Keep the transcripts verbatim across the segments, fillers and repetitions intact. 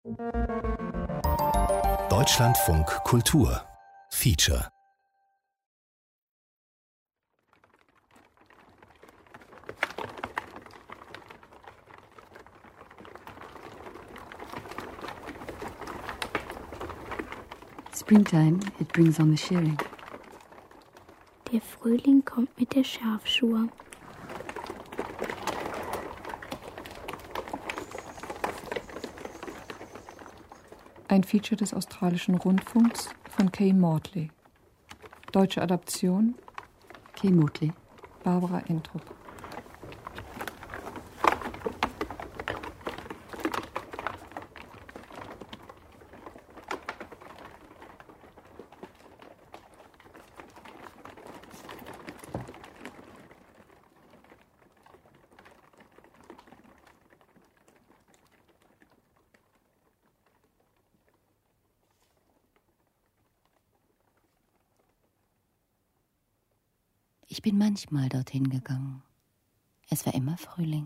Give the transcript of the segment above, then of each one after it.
Deutschlandfunk Kultur Feature. Springtime, it brings on the shearing. Der Frühling kommt mit der Schafschur. Ein Feature des australischen Rundfunks von Kay Mortley. Deutsche Adaption Kay Mortley. Barbara Entrup. Ich bin manchmal dorthin gegangen. Es war immer Frühling.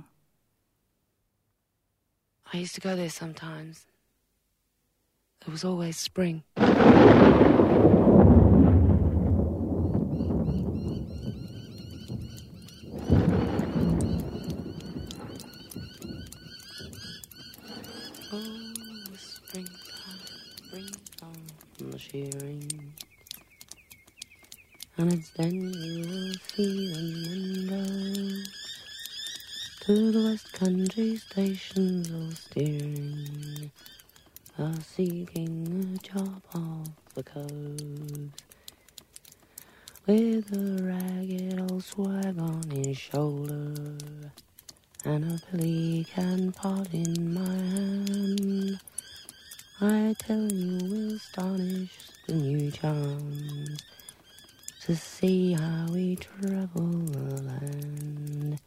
I used to go there sometimes. It was always spring. Oh, springtime, springtime, from the shearing. And it's then you will see them windows to the West Country stations all steering, are seeking a job off the coast, with a ragged old swag on his shoulder and a pelican pot in my hand. I tell you will astonish the new charms to see how we travel the land.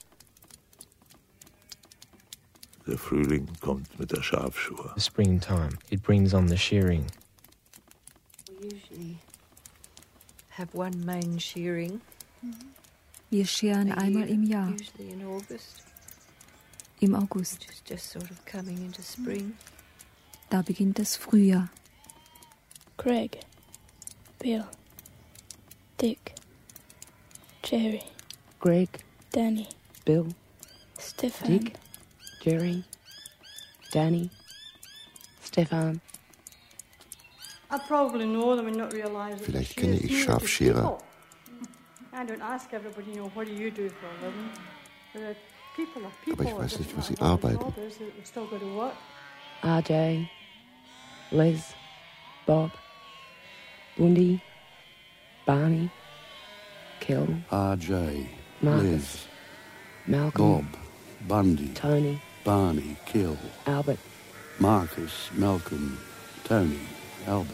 Der Frühling kommt mit der Schafschur. Springtime, it brings on the shearing. We usually have one main shearing. Wir scheren einmal im Jahr, Usually in August, im August. which is just sort of coming into spring. Da beginnt das Frühjahr. Greg, Bill, Dick, Jerry, Greg, Danny, Bill, Stefan, Dick, Jerry, Danny, Stefan. I probably know them and not realize that Vielleicht the kenne shears ich do Schafscherer. people. I don't ask everybody, you know, what do you do for a living? But people are people. Aber ich weiß It nicht, doesn't was sie matter what the arbeiten. job is, they've still got to work. R J, Liz, Bob, Bundy, Barney, Kel, R J, Marcus, Liz, Malcolm, Bob, Bundy, Tony, Barney, Kill, Albert. Marcus, Malcolm, Tony, Albert.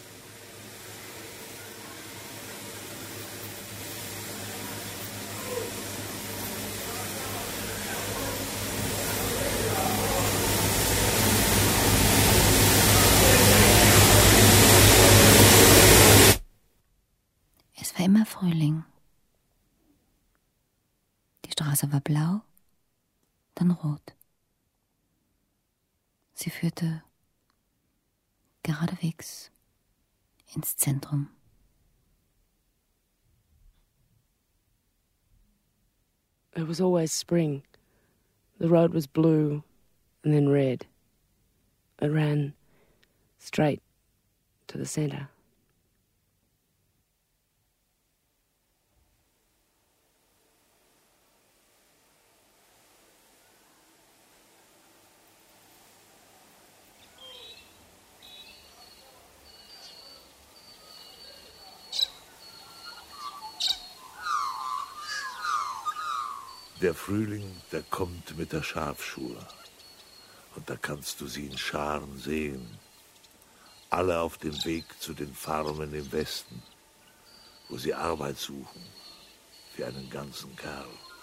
Es war immer Frühling. Die Straße war blau, dann rot. Sie führte geradewegs ins Zentrum. It was always spring. The road was blue and then red. It ran straight to the center. Der Frühling, der kommt mit der Schafschur. Und da kannst du sie in Scharen sehen. Alle auf dem Weg zu den Farmen im Westen, wo sie Arbeit suchen für einen ganzen Kerl.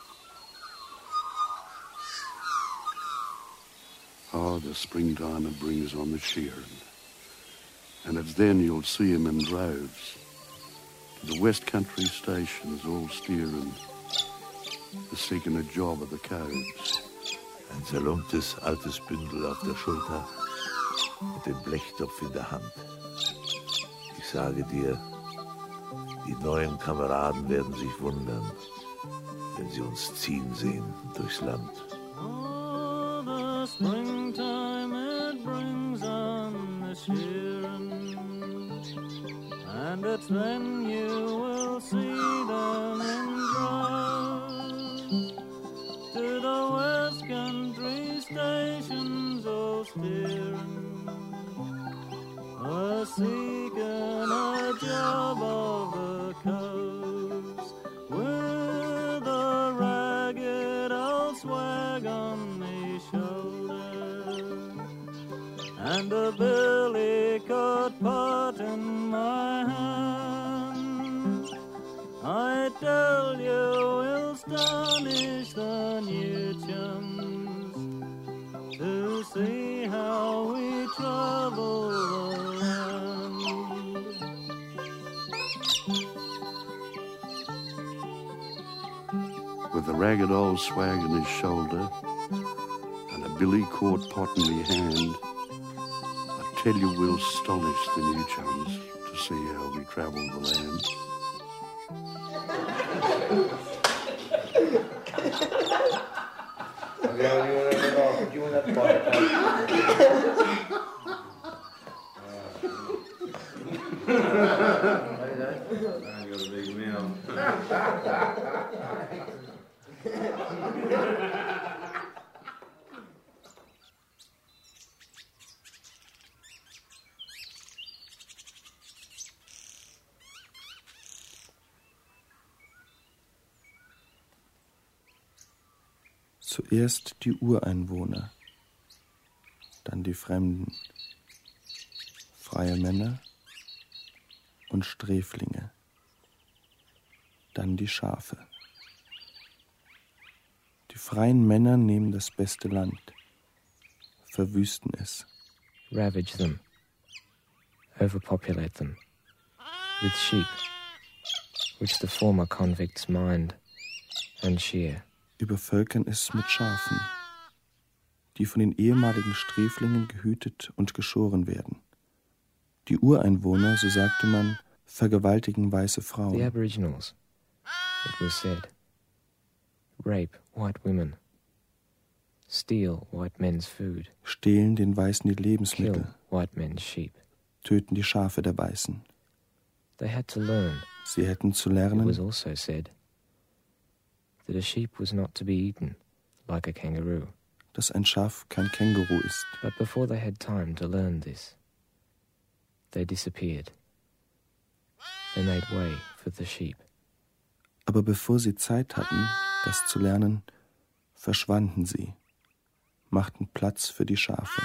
Oh, the springtime it brings on the shearing. And it's then you'll see 'em in droves. The West Country stations all steering. They're seeking a job at the coves. Ein zerlumptes altes Bündel auf der Schulter. und den Blechtopf in der Hand. Ich sage dir, die neuen Kameraden werden sich wundern, wenn sie uns ziehen sehen durchs Land. Oh, the springtime it brings on the shearing, and it's then you will see them in droves to the west country stations all steering, a seeking a job of the coast with a ragged old swag on me shoulder and a billy-coat pot in my hand. I tell you, we'll astonish the new chums to see how we travel the land. With a ragged old swag on his shoulder and a billy-court pot in me hand, I tell you we'll astonish the new chums to see how we travel the land. Zuerst die Ureinwohner, dann die Fremden, freie Männer und Sträflinge, dann die Schafe. Die freien Männer nehmen das beste Land, verwüsten es. Ravage them, overpopulate them, with sheep, which the former convicts mind and shear. Übervölkern es mit Schafen, die von den ehemaligen Sträflingen gehütet und geschoren werden. Die Ureinwohner, so sagte man, vergewaltigen weiße Frauen. The Aboriginals, it was said, rape white women, steal white men's food, stehlen den Weißen die Lebensmittel, kill white men's sheep, töten die Schafe der Weißen. They had to learn. Sie hätten zu lernen, it was also said, that a sheep was not to be eaten like a kangaroo. Dass ein Schaf kein Känguru ist. But before they had time to learn this, they disappeared. They made way for the sheep. Aber bevor sie Zeit hatten, das zu lernen, verschwanden sie, machten Platz für die Schafe.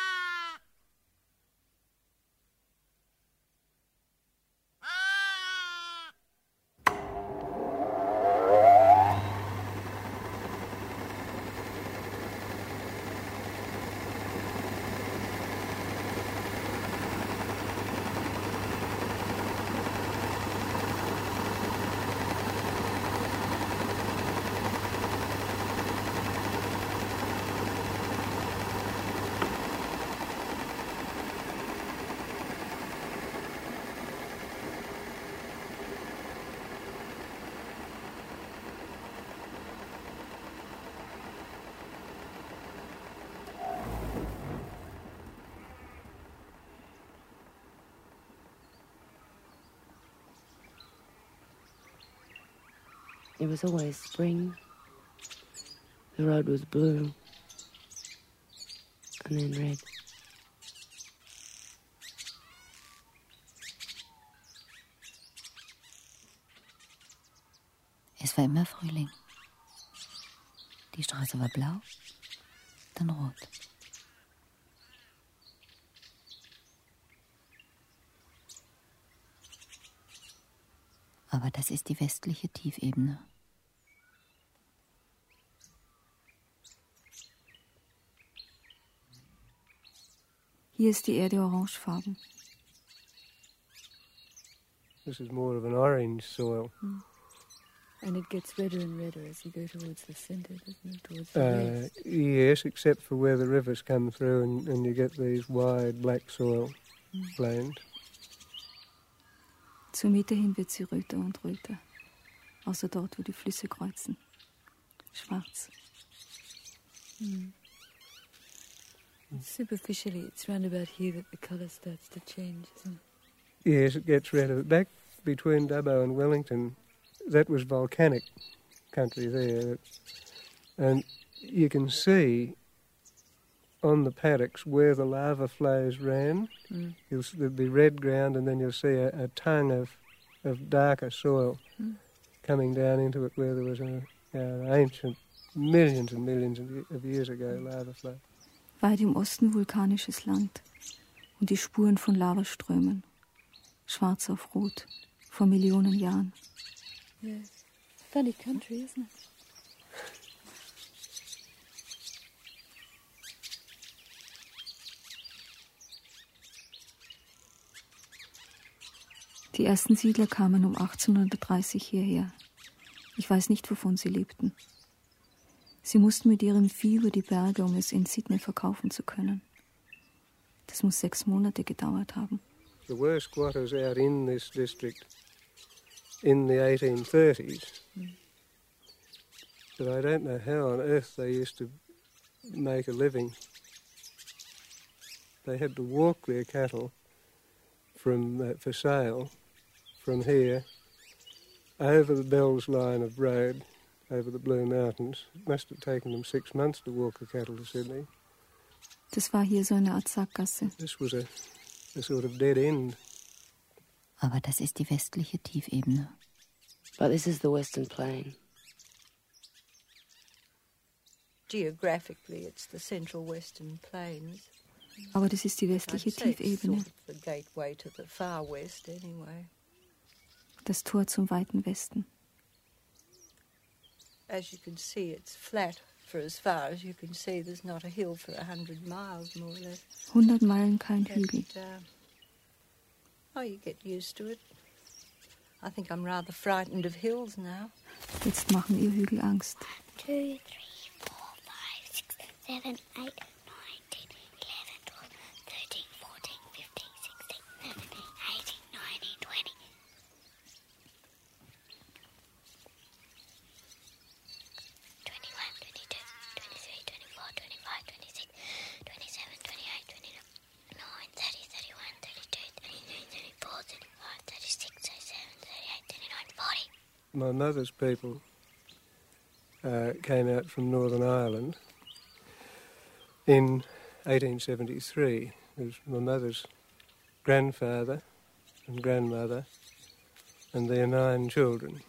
It was always spring. The road was blue and then red. Es war immer Frühling. Die Straße war blau, dann rot. Aber das ist die westliche Tiefebene. Hier ist die Erde orangefarben. This is more of an orange soil. Hm. And it gets redder and redder as you go towards the centre, doesn't it? Towards the Uh, lakes. yes, except for where the rivers come through and, and you get these wide black soil Mm. plains. Zur Mitte hin wird sie röter und röter. Außer dort, wo die Flüsse kreuzen. Schwarz. Mm. Superficially, it's round about here that the colour starts to change, isn't it? Yes, it gets redder. Back between Dubbo and Wellington, that was volcanic country there. And you can see on the paddocks where the lava flows ran. Mm. You'll, there'll be red ground and then you'll see a, a tongue of, of darker soil Mm. coming down into it where there was an ancient, millions and millions of years ago, lava flow. Weit im Osten vulkanisches Land und die Spuren von Lavaströmen. Schwarz auf Rot, vor Millionen Jahren. Yes. Funny country, isn't it? Die ersten Siedler kamen um achtzehnhundertdreißig hierher. Ich weiß nicht, wovon sie lebten. Sie mussten mit ihrem Vieh über die Berge, um es in Sydney verkaufen zu können. Das muss sechs Monate gedauert haben. There were squatters out in this district in the eighteen thirties, Mm. but I don't know how on earth they used to make a living. They had to walk their cattle from uh, for sale from here over the Bells line of road over the Blue Mountains. It must have taken them six months to walk the cattle to Sydney. Das war hier so eine Art Sackgasse. This was a, a sort of dead end. Aber das ist die westliche Tiefebene. But this is the Western Plain. Geographically, it's the Central Western Plains. Aber das ist die westliche I'd say it's Tiefebene, sort of the gateway to the far west, anyway. das Tor zum weiten Westen. As you can see, it's flat for as far as you can see. There's not a hill for a hundred miles, more or less. Hundert Meilen kein Hügel. But, uh, oh, you get used to it. I think I'm rather frightened of hills now. Jetzt machen ihr Hügel Angst. Two, three, four, five, six, seven, eight, nine, ten, eleven, twelve, thirteen, fourteen, fifteen, sixteen, seventeen, eighteen, nineteen, twenty. twenty-one, twenty-two, twenty-three, twenty-four, twenty-five, twenty-six, twenty-seven, twenty-eight, twenty-nine, thirty, thirty-one, thirty-two, thirty-three, thirty-four, thirty-five, thirty-six, thirty-seven, thirty-eight, thirty-nine, forty. My mother's people uh, came out from Northern Ireland in eighteen seventy-three. It was my mother's grandfather and grandmother and their nine children.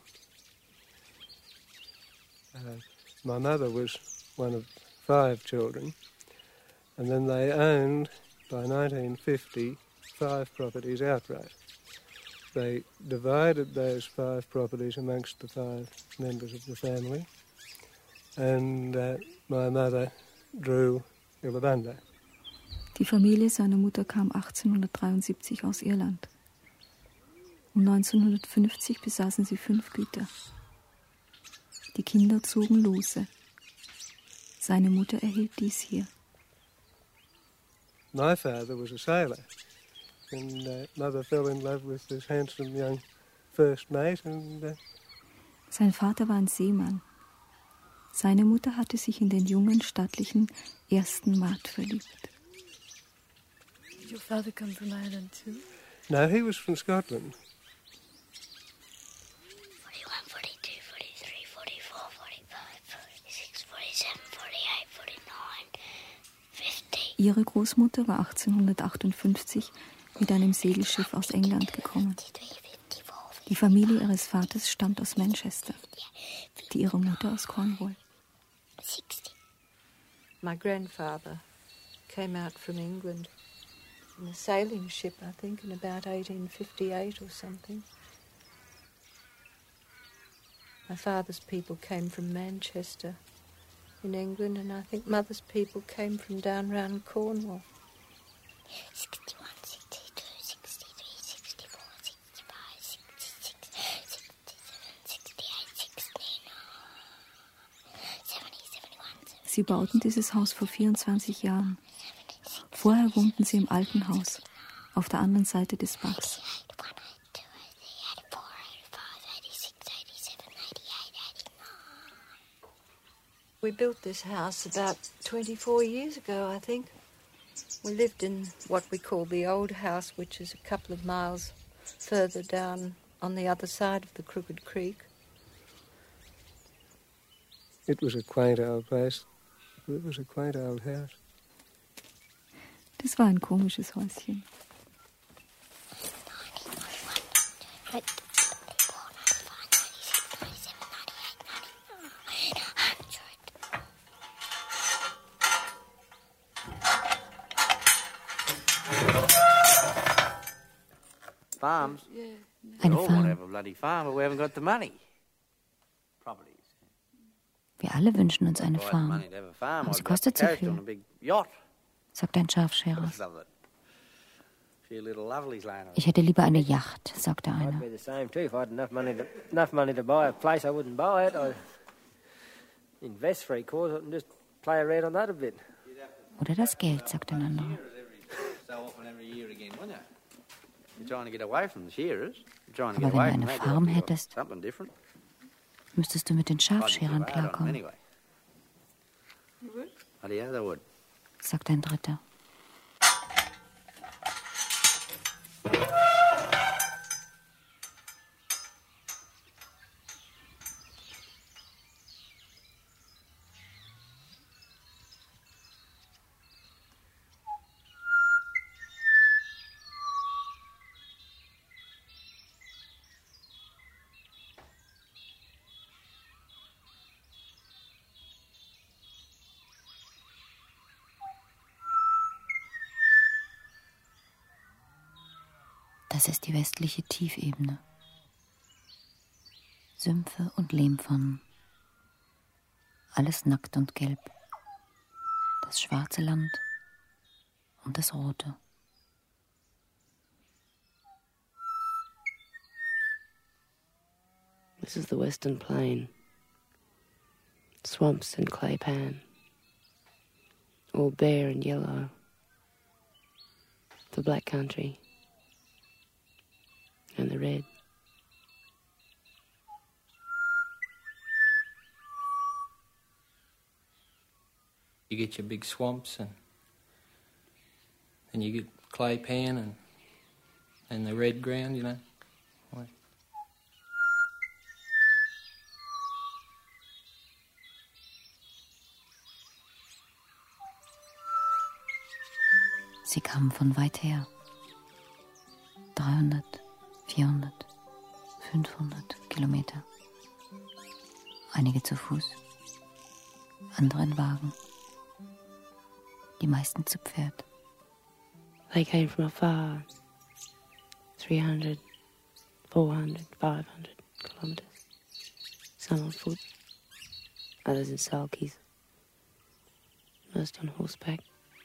Uh, my mother was one of five children, and then they owned, by nineteen fifty, five properties outright. They divided those five properties amongst the five members of the family, and uh, my mother drew Illabunda. Die Familie seiner Mutter kam achtzehnhundertdreiundsiebzig aus Irland. Um neunzehnhundertfünfzig besaßen sie fünf Güter. Die Kinder zogen lose. Seine Mutter erhielt dies hier. My father was a sailor, and uh, mother fell in love with this handsome young first mate, and uh, Sein Vater war ein Seemann. Seine Mutter hatte sich in den jungen, stattlichen ersten Mat verliebt. Did your father come from Ireland too? no, he was from Scotland. forty-one, forty-two, forty-three, forty-four, forty-five, forty-six, forty-seven, forty-eight, forty-nine, fifty. Ihre Großmutter war achtzehnhundertachtundfünfzig mit einem Segelschiff aus England gekommen. Die Familie ihres Vaters stammt aus Manchester, die ihrer Mutter aus Cornwall. My grandfather came out from England in a sailing ship, I think, in about eighteen fifty-eight or something. My father's people came from Manchester in England, and I think mother's people came from down round Cornwall. sixty-one, sixty-two, sixty-three, sixty-four, sixty-five, sixty-six, sixty-seven, sixty-eight, sixty-nine, Sie bauten dieses Haus vor vierundzwanzig Jahren. Vorher wohnten sie im alten Haus, auf der anderen Seite des Bachs. We built this house about twenty-four years ago, I think. We lived in what we call the old house, which is a couple of miles further down on the other side of the Crooked Creek. It was a quaint old place. It was a quaint old house. Das war ein komisches Häuschen. Farms? Eine We all want to Farm. have a bloody farm, but we haven't got the money. Properties. Wir alle wünschen uns eine Farm. Money to have a farm. Aber sie I'd got kostet the so coast on a viel, big yacht. sagt ein Schafscherer. Love it. Few little lovelies lying around. Ich hätte lieber eine Yacht, sagte einer. I'd be the same too. If I had enough money to, enough money to buy a place, I wouldn't buy it. I'd invest three quarters and just play around on that a bit. Oder das Geld, sagt ein anderer. So often every year again, wouldn't you? You're trying to get away from the shearers. You're trying to Aber get wenn away du from eine that. Farm You've got hättest, something different. müsstest du mit den Schafscherern I'd give out on 'em klarkommen, anyway. Oh, yeah, they would. sagt ein dritter. Das ist die westliche Tiefebene. Sümpfe und Lehmpfannen. Alles nackt und gelb. Das schwarze Land und das rote. This is the Western Plain. Swamps and clay pan. All bare and yellow. The black country. And the red. You get your big swamps and then you get clay pan and and the red ground, you know. Sie kamen von weit her. dreihundert, vierhundert, fünfhundert Kilometer. Einige zu Fuß, andere in Wagen. Die meisten zu Pferd. They came from afar. three hundred, four hundred, five hundred kilometres. Some on foot, others in sulkies. Most on horseback.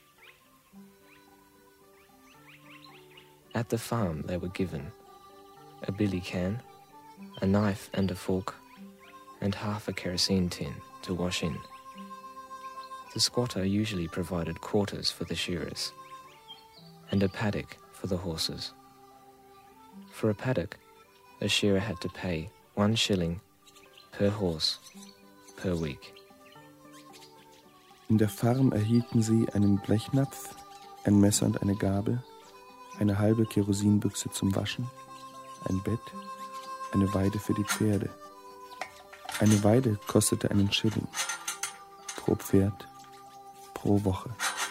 At the farm they were given a billy can, a knife and a fork, and half a kerosene tin to wash in. The squatter usually provided quarters for the shearers, and a paddock for the horses. For a paddock, a shearer had to pay one shilling per horse per week. In der Farm erhielten sie einen Blechnapf, ein Messer und eine Gabel, eine halbe Kerosinbüchse zum Waschen, ein Bett, eine Weide für die Pferde. Eine Weide kostete einen Schilling. Pro Pferd, pro Woche.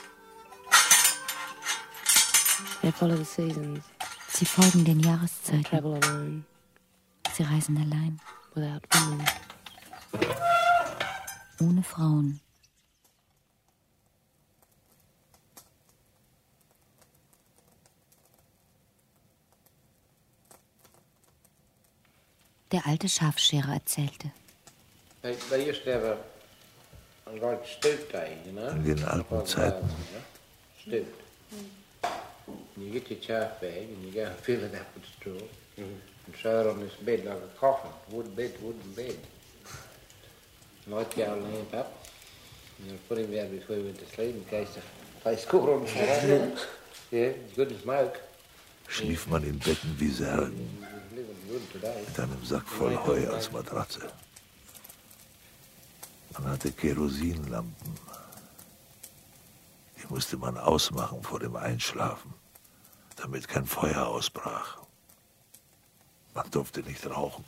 They follow the seasons. Sie folgen den They Jahreszeiten. travel alone, Sie reisen allein, without women. ohne Frauen. Der alte Schafscherer erzählte. They, they used to have a, a like stoop day, you know. In den alten Zeiten. Stoop. You get your chaff bag and you go and fill it up with straw and throw it on this bed like a coffin, wood bed, wooden bed. Light your lamp up, You put him down before he went to sleep in case the place caught on fire. Yeah, it's good to smoke. Schlief man in Betten wie Särgen, mit einem Sack voll Heu als Matratze. Man hatte Kerosinlampen. Die musste man ausmachen vor dem Einschlafen, damit kein Feuer ausbrach. Man durfte nicht rauchen.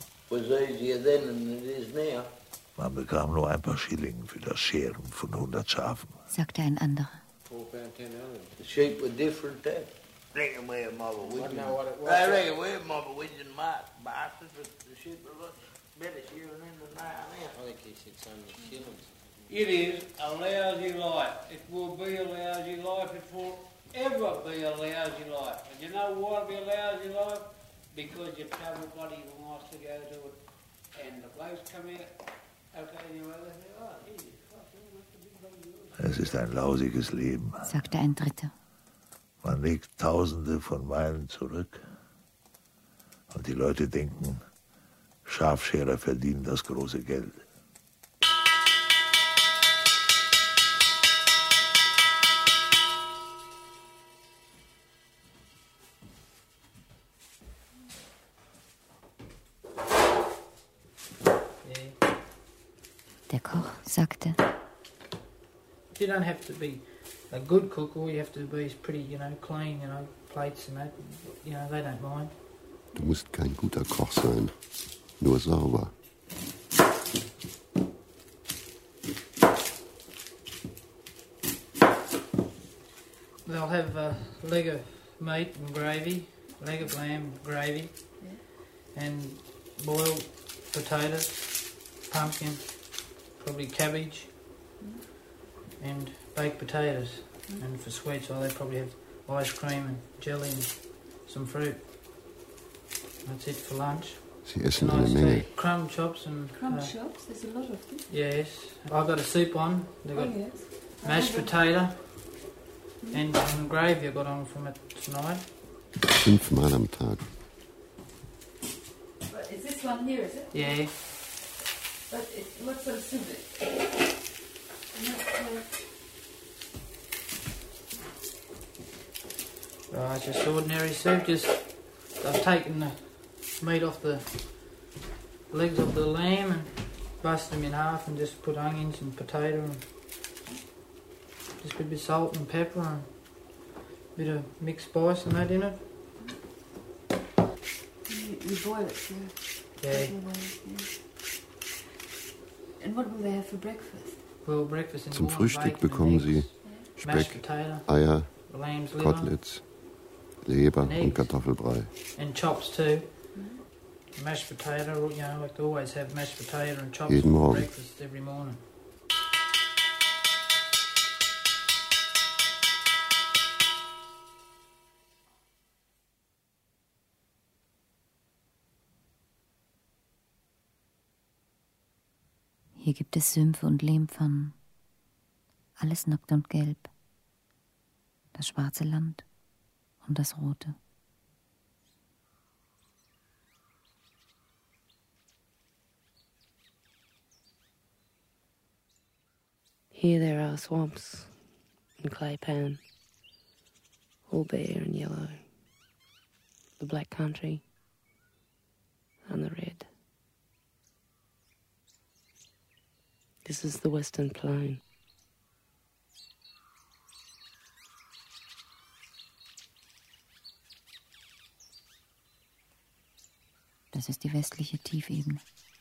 Man bekam nur ein paar Schilling für das Scheren von hundert Schafen. Sagte ein anderer. The sheep were different then. Reckon we're mother I widgeon. know what it was. I reckon we're mother widgeon bastards, but the sheep are much better shearing in than they are now. I think he said so many shillings. It is a lousy life. It will be a lousy life. It will ever be a lousy life. And you know why it'll be a lousy life? Because you travel bloody miles to go to it. And the blokes come out, okay, anyway, they say, oh, easy. Es ist ein lausiges Leben. Sagte ein Dritter. Man legt Tausende von Meilen zurück. Und die Leute denken, Schafscherer verdienen das große Geld. Der Koch sagte. You don't have to be a good cook, all you have to be is pretty, you know, clean, you know, plates and that, you know, they don't mind. Du musst kein guter Koch sein, nur sauber. They'll have a leg of meat and gravy, leg of lamb gravy, and boiled potatoes, pumpkin, probably cabbage, and baked potatoes. Mm. And for sweets, well, they probably have ice cream and jelly and some fruit. That's it for lunch. Sie essen nice eine Menge. tea. Crumb chops and... Crumb uh, chops? There's a lot of them. Yes. I've got a soup on. They've got Oh, yes. mashed potato and some gravy I got on from it tonight. Fünfmal am Tag. But is this one here, is it? Yeah. But it, what sort of soup is it? Right, just ordinary soup. Just I've taken the meat off the legs of the lamb and bust them in half and just put onions and potato and just a bit of salt and pepper and a bit of mixed spice and that in it. You, you boil it, so... Yeah. yeah. And what will they have for breakfast? Well, breakfast in the Zum morning, Frühstück bacon bekommen and sie eggs, mashed Speck, potato, Eier, lamb's liver, Koteletts, Leber and und eggs. Kartoffelbrei. And chops too. Mashed potato, you know, like they always have mashed potato and chops Jeden for Morgen. breakfast every morning. Hier gibt es Sümpfe und Lehmpfannen. Alles nackt und gelb. Das schwarze Land und das rote. Here there are swamps and clay pan, all bare and yellow. The black country and the red. This is the Western Plain. Das ist die westliche Tiefebene.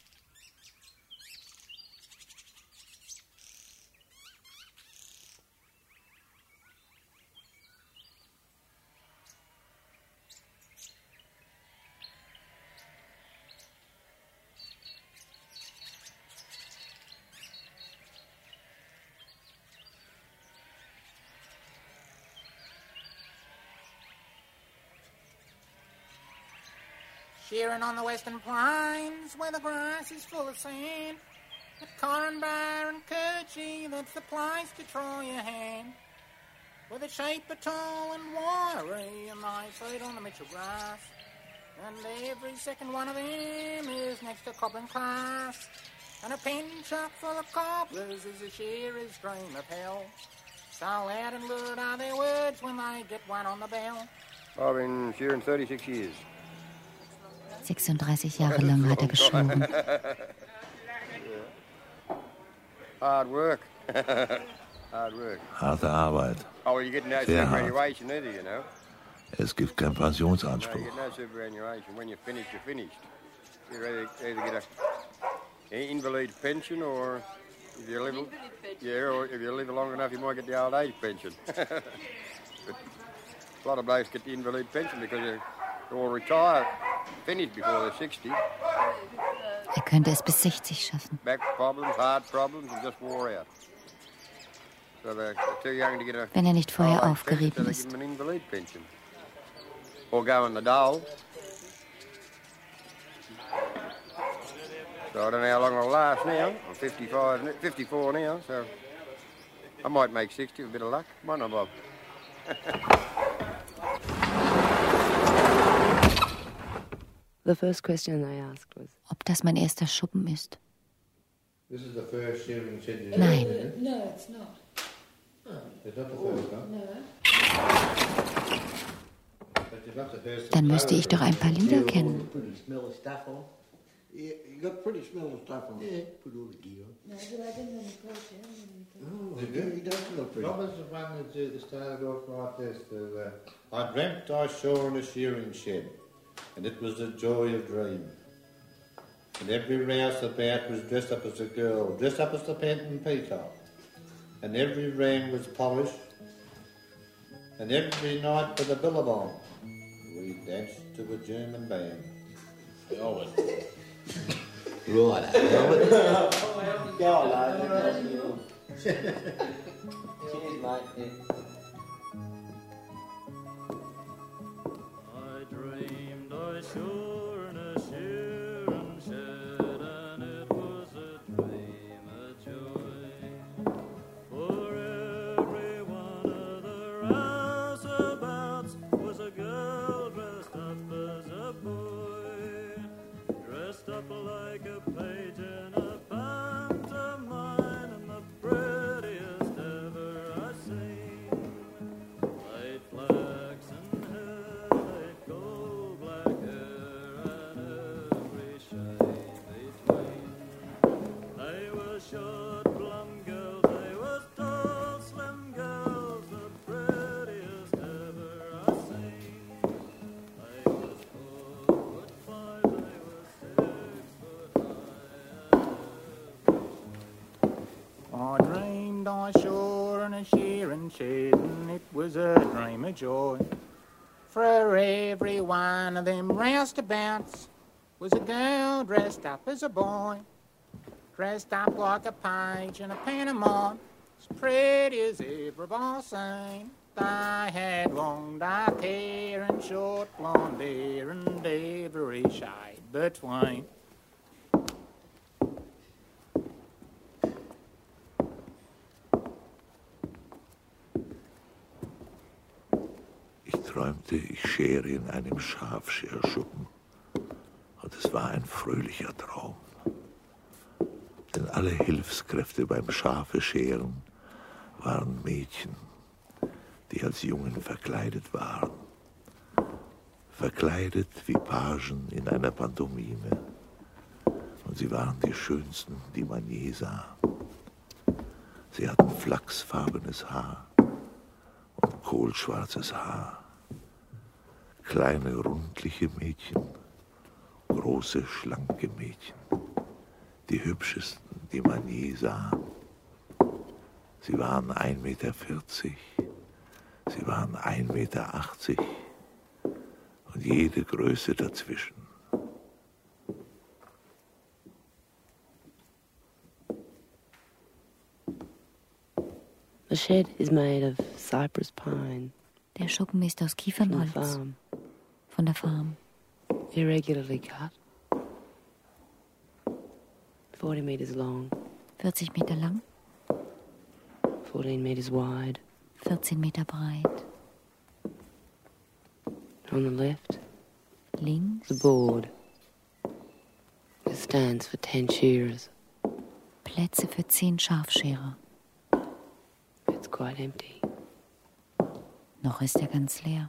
Shearing on the western plains, where the grass is full of sand. At Corranbar and Kirchie, that's the place to try your hand. Where the sheep are tall and wiry, and they feed on the Mitchell grass. And every second one of them is next to Cobblin Class. and a pen chock full of cobblers is a shearer's dream of hell. So loud and lurid are their words when they get one on the bell. I've been shearing thirty-six years. sechsunddreißig Jahre lang hat er geschoren. Hard work. Hard work. Harte Arbeit. Oh, you get no Sehr hart. superannuation either, you know. Es gibt keinen No, Pensionsanspruch. you get no superannuation. When you're finished, you're finished. You either, either get a, an invalid pension, or if you live, yeah, or if you live long enough, you might get the old age pension. But a lot of blokes get the invalid pension because they all retire, finished before they're sixty. Er könnte es bis sechzig schaffen. Back problems, heart problems, and just wore out. So they're too young to get a Wenn er nicht vorher old age aufgerieben pension, so ist. they give them an invalid pension. Or go on the dole. So I don't know how long I'll last now. I'm fifty-five, n- fifty-four now, so I might make sixty with a bit of luck. Might not, Bob. The first question I asked was, Ob das mein erster Schuppen ist? This is the first shearing shed you Nein. ever did? No, it's not. It's not the first one? No. But you've got the first Dann müsste ich doch ein paar Lieder kennen. Pretty smelly stuff on. Yeah, you got pretty smelling stuff on. Yeah. Put all the gear on. No, but I didn't have any clothes on. Oh, Did yeah, you? he does look pretty. Robert's the one that, uh, that started off like this. The, uh, I dreamt I saw in a shearing shed, and it was the joy of dream. And every rouse about was dressed up as a girl, dressed up as the Penton Peacock. And every ram was polished, and every night with a billabong, we danced to a German band. Oh, it. Right, Albert. Go on, Albert. cheers, mate. I dreamed I saw in a shearing shed, and it was a dream of joy. For every one of the rouseabouts was a girl dressed up as a boy, dressed up like a page in a pantomime, and the prettiest ever I seen. Light flaxen hair, light gold black hair, and every shade between. They were short, plump girls, they was tall, slim girls, the prettiest ever I seen. They was four foot five, they was six foot high. I dreamed I saw in a shearing shed, and it was a dream of joy. For every one of them roustabouts was a girl dressed up as a boy, dressed up like a page in a pantomime, as pretty as ever I've seen. They had long dark hair and short blonde hair, and every shade between. Ich träumte, ich schere in einem Schafscherschuppen. Und es war ein fröhlicher Traum. Denn alle Hilfskräfte beim Schafescheren waren Mädchen, die als Jungen verkleidet waren. Verkleidet wie Pagen in einer Pantomime. Und sie waren die schönsten, die man je sah. Sie hatten flachsfarbenes Haar und kohlschwarzes Haar. Kleine, rundliche Mädchen, große, schlanke Mädchen. Die hübschesten, die man je sah. Sie waren ein Meter vierzig, sie waren ein Meter achtzig und jede Größe dazwischen. The shed is made of cypress pine. Der Schuppen ist aus Kiefernholz. From the farm. Von der Farm. Irregularly cut. Forty meters long. vierzig Meter lang. Fourteen meters wide. vierzehn Meter breit. On the left. Links. The board. It stands for ten shearers. Plätze für zehn Schafscherer. It's quite empty. Noch ist er ganz leer.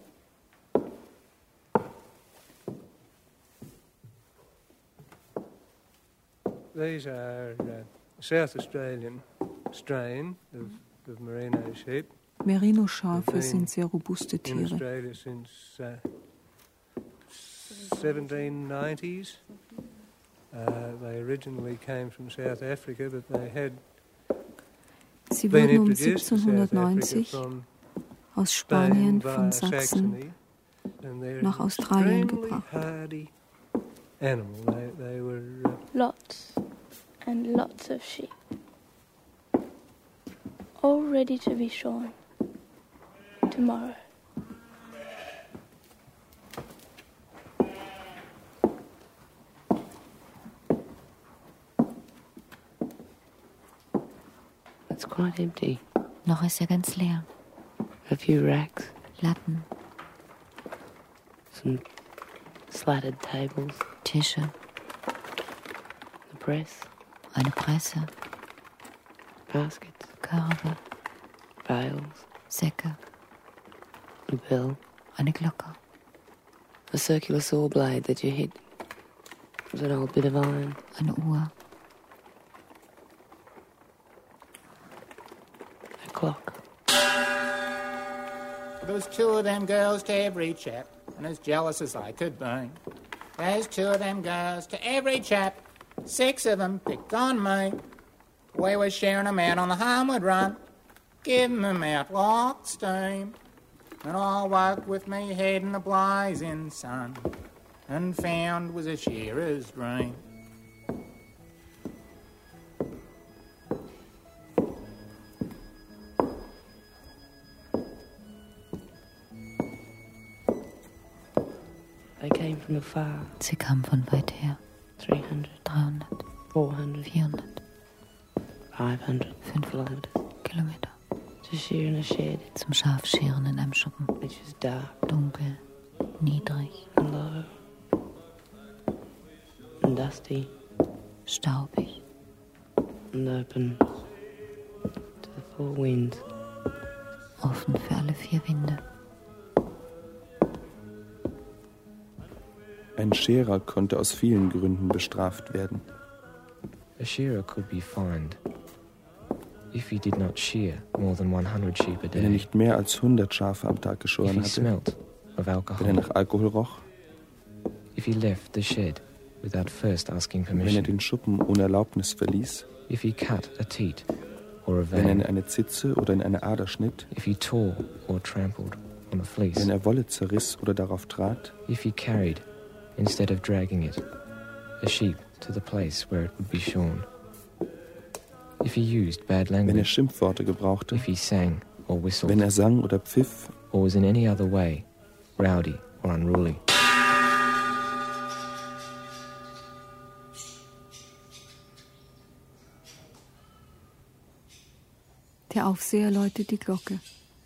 These are uh, South Australian strain of, of merino sheep. Merino-Schafe sind sehr robuste In Tiere. Australia since uh, seventeen nineties. Uh, they originally came from South Africa, but they had Sie been wurden um introduced to South Africa siebzehnhundertneunzig from aus Spain Spanien via von Sachsen Saxony, and they're nach Australien extremely gebracht. hardy animal. They, they were uh, Lots and lots of sheep, all ready to be shorn tomorrow. It's quite empty. Noch ist er ganz leer. A few racks, Latten, some slatted tables, Tische, the press, eine Presse, baskets, Körbe, bales, Säcke, a bell, eine Glocke, a circular saw blade that you hit with an old bit of iron, eine Uhr, a clock. There's two of them girls to every chap, and as jealous as I could be. There's two of them girls to every chap, six of them picked on me. We were sharing 'em out on the homeward run, giving 'em out like steam. And I woke with me head in the blazing sun, and found was a shearer's dream. They came from afar. Sie kamen von weit her. three hundred, dreihundert, four hundred, vierhundert, five hundred fünfhundert Kilometer. to shear in a shed, Zum Schafscheren in einem Schuppen. which is dark Dunkel, niedrig, and low and dusty staubig. and open to the four winds. Offen für alle vier Winde. Ein Scherer konnte aus vielen Gründen bestraft werden. A shearer could be fined if he did not shear more than one hundred sheep a Wenn er day, nicht mehr als hundert Schafe am Tag if geschoren he hatte, smelt of wenn er alcohol, nach Alkohol roch, if he left the shed without first asking wenn er permission, den Schuppen ohne Erlaubnis verließ, if he cut a teat or a wenn er in vein, eine Zitze oder in eine Ader schnitt, if he tore or trampled on a fleece, wenn er Wolle zerriss oder darauf trat, if he carried, instead of dragging it, a sheep to the place where it would be shorn, if he used bad wenn er language, Schimpfworte gebrauchte, if he sang or whistled, wenn er sang oder pfiff, or was in any other way rowdy or unruly. Der Aufseher läutet die Glocke.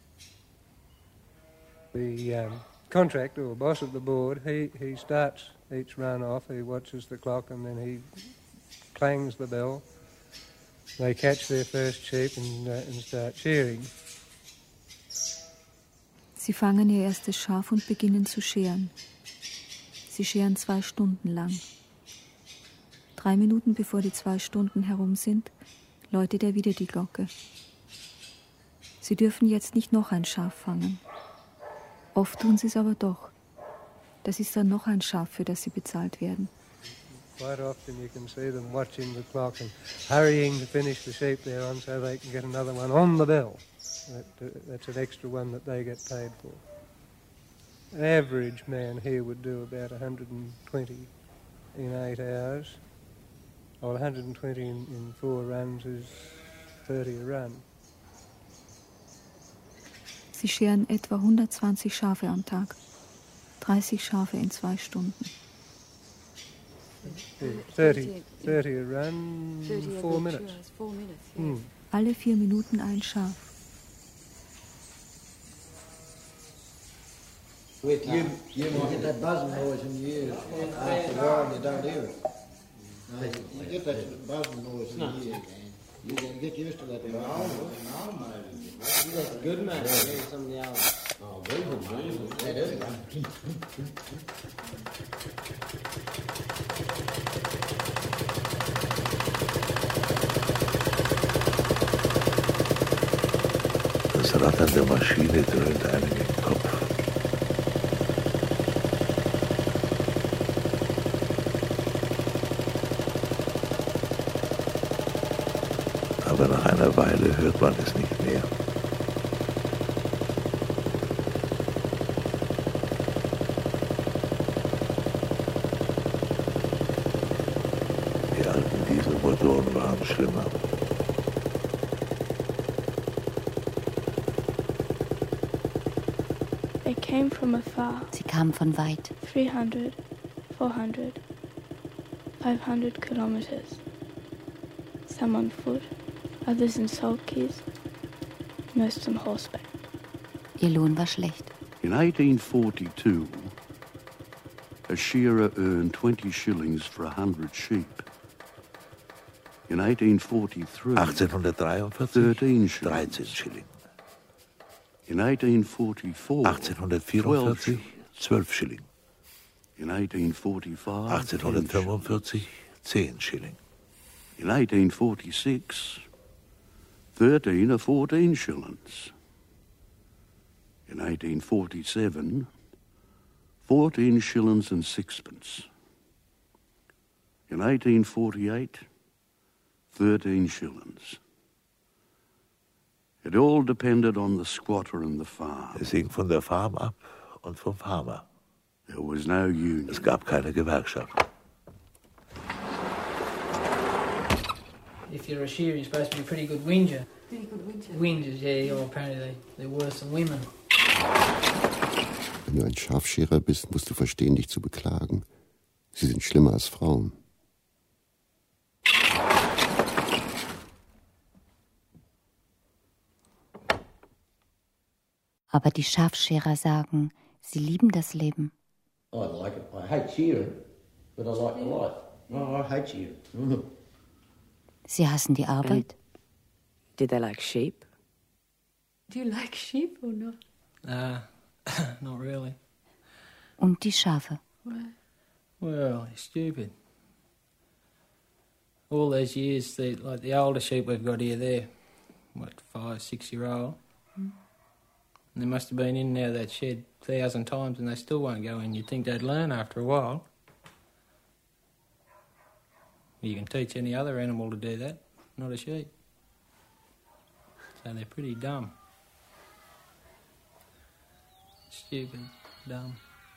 the um, contractor or boss of the board. He, he starts each run off, he watches the clock, and then he clangs the bell. They catch their first sheep and, uh, and start shearing. Sie fangen ihr erstes Schaf und beginnen zu scheren. Sie scheren zwei Stunden lang. Drei Minuten bevor die zwei Stunden herum sind, läutet er wieder die Glocke. Sie dürfen jetzt nicht noch ein Schaf fangen. Oft tun sie es aber doch. Das ist dann noch ein Schaf, für das sie bezahlt werden. Quite often you can see them watching the clock and hurrying to finish the sheep they're on so they can get another one on the bell. That, uh, that's an extra one that they get paid for. An average man here would do about one hundred twenty in eight hours. Or one hundred twenty in, in four runs is thirty a run. Sie scheren etwa hundertzwanzig Schafe am Tag. dreißig Schafe in zwei Stunden. thirty, thirty a run, four minutes. Hmm. Alle vier Minuten ein Schaf. With you, you won't get that buzzing noise in your ears after a while, you don't hear it. You get that buzzing noise in the ear, man. You gotta get used to that. No, no, man. You got a good man. Maybe some of the others. Oh, breathing, breathing. That is right. Das Rattern der Maschine dröhnt einem im Kopf. Aber nach einer Weile hört man es nicht mehr. Die alten Dieselmotoren waren schlimmer. They came from afar. Sie kamen von weit. three hundred, four hundred, five hundred kilometers. Some on foot, others in sulkies, most on horseback. Ihr Lohn war schlecht. In eighteen forty-two, a shearer earned twenty shillings for a hundred sheep. In eighteen forty-three, achtzehnhundertdreiundvierzig, thirteen shillings. dreizehn Schilling. In eighteen forty-four, achtzehnhundertvierundvierzig, zwölf Schilling. In eighteen forty-five, achtzehnhundertfünfundvierzig, zehn Schilling. In eighteen forty-six, thirteen or fourteen shillings. In eighteen forty-seven, fourteen shillings and sixpence. In eighteen forty-eight, thirteen shillings. It all depended on the squatter and the farm. Es hing von der Farm ab und vom Farmer. There was no union. Es gab keine Gewerkschaft. If you're a shearer, you're supposed to be a pretty good whinger. Pretty good whinger? Whingers, yeah. Or apparently they, they're worse than women. Wenn du ein Schafscherer bist, musst du verstehen, dich zu beklagen. Sie sind schlimmer als Frauen. Aber die Schafscherer sagen, sie lieben das Leben. I like it. I hate shearing, but I like the life. Oh, I hate shearing. Sie hassen die Arbeit. Did they like sheep? Do you like sheep or not? Uh, not really. Und die Schafe. Why? Well, it's stupid. All those years, the, like the older sheep we've got here, they're, what, five, six-year-old. Mm. And they must have been in and out of that shed a thousand times and they still won't go in. You'd think they'd learn after a while. You can teach any other animal to do that, not a sheep. So they're pretty dumb. Stupid, dumb.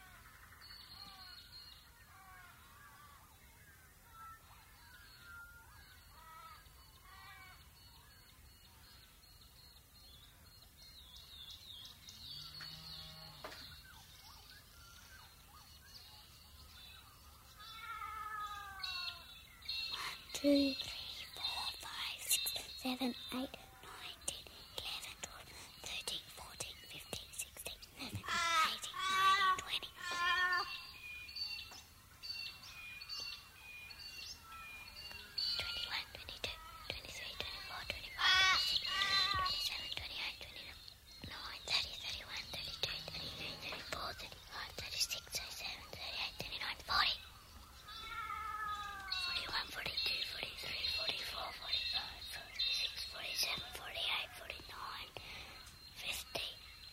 Two, three, four, five, six, seven, eight, nine, ten, eleven, twelve, thirteen, fourteen, fifteen, sixteen, seventeen, eighteen, nineteen, twenty. Twenty-one, twenty-two, twenty-three, twenty-four, twenty-five, twenty-six, twenty-seven, twenty-eight, twenty-nine, thirty, thirty-one, thirty-two, thirty-three, thirty-four, thirty-five, thirty-six, thirty-seven, thirty-eight, thirty-nine, forty. forty-one, forty-two, forty-three, forty-four, forty-five, forty-six, forty-seven, forty-eight, forty-nine, fifty.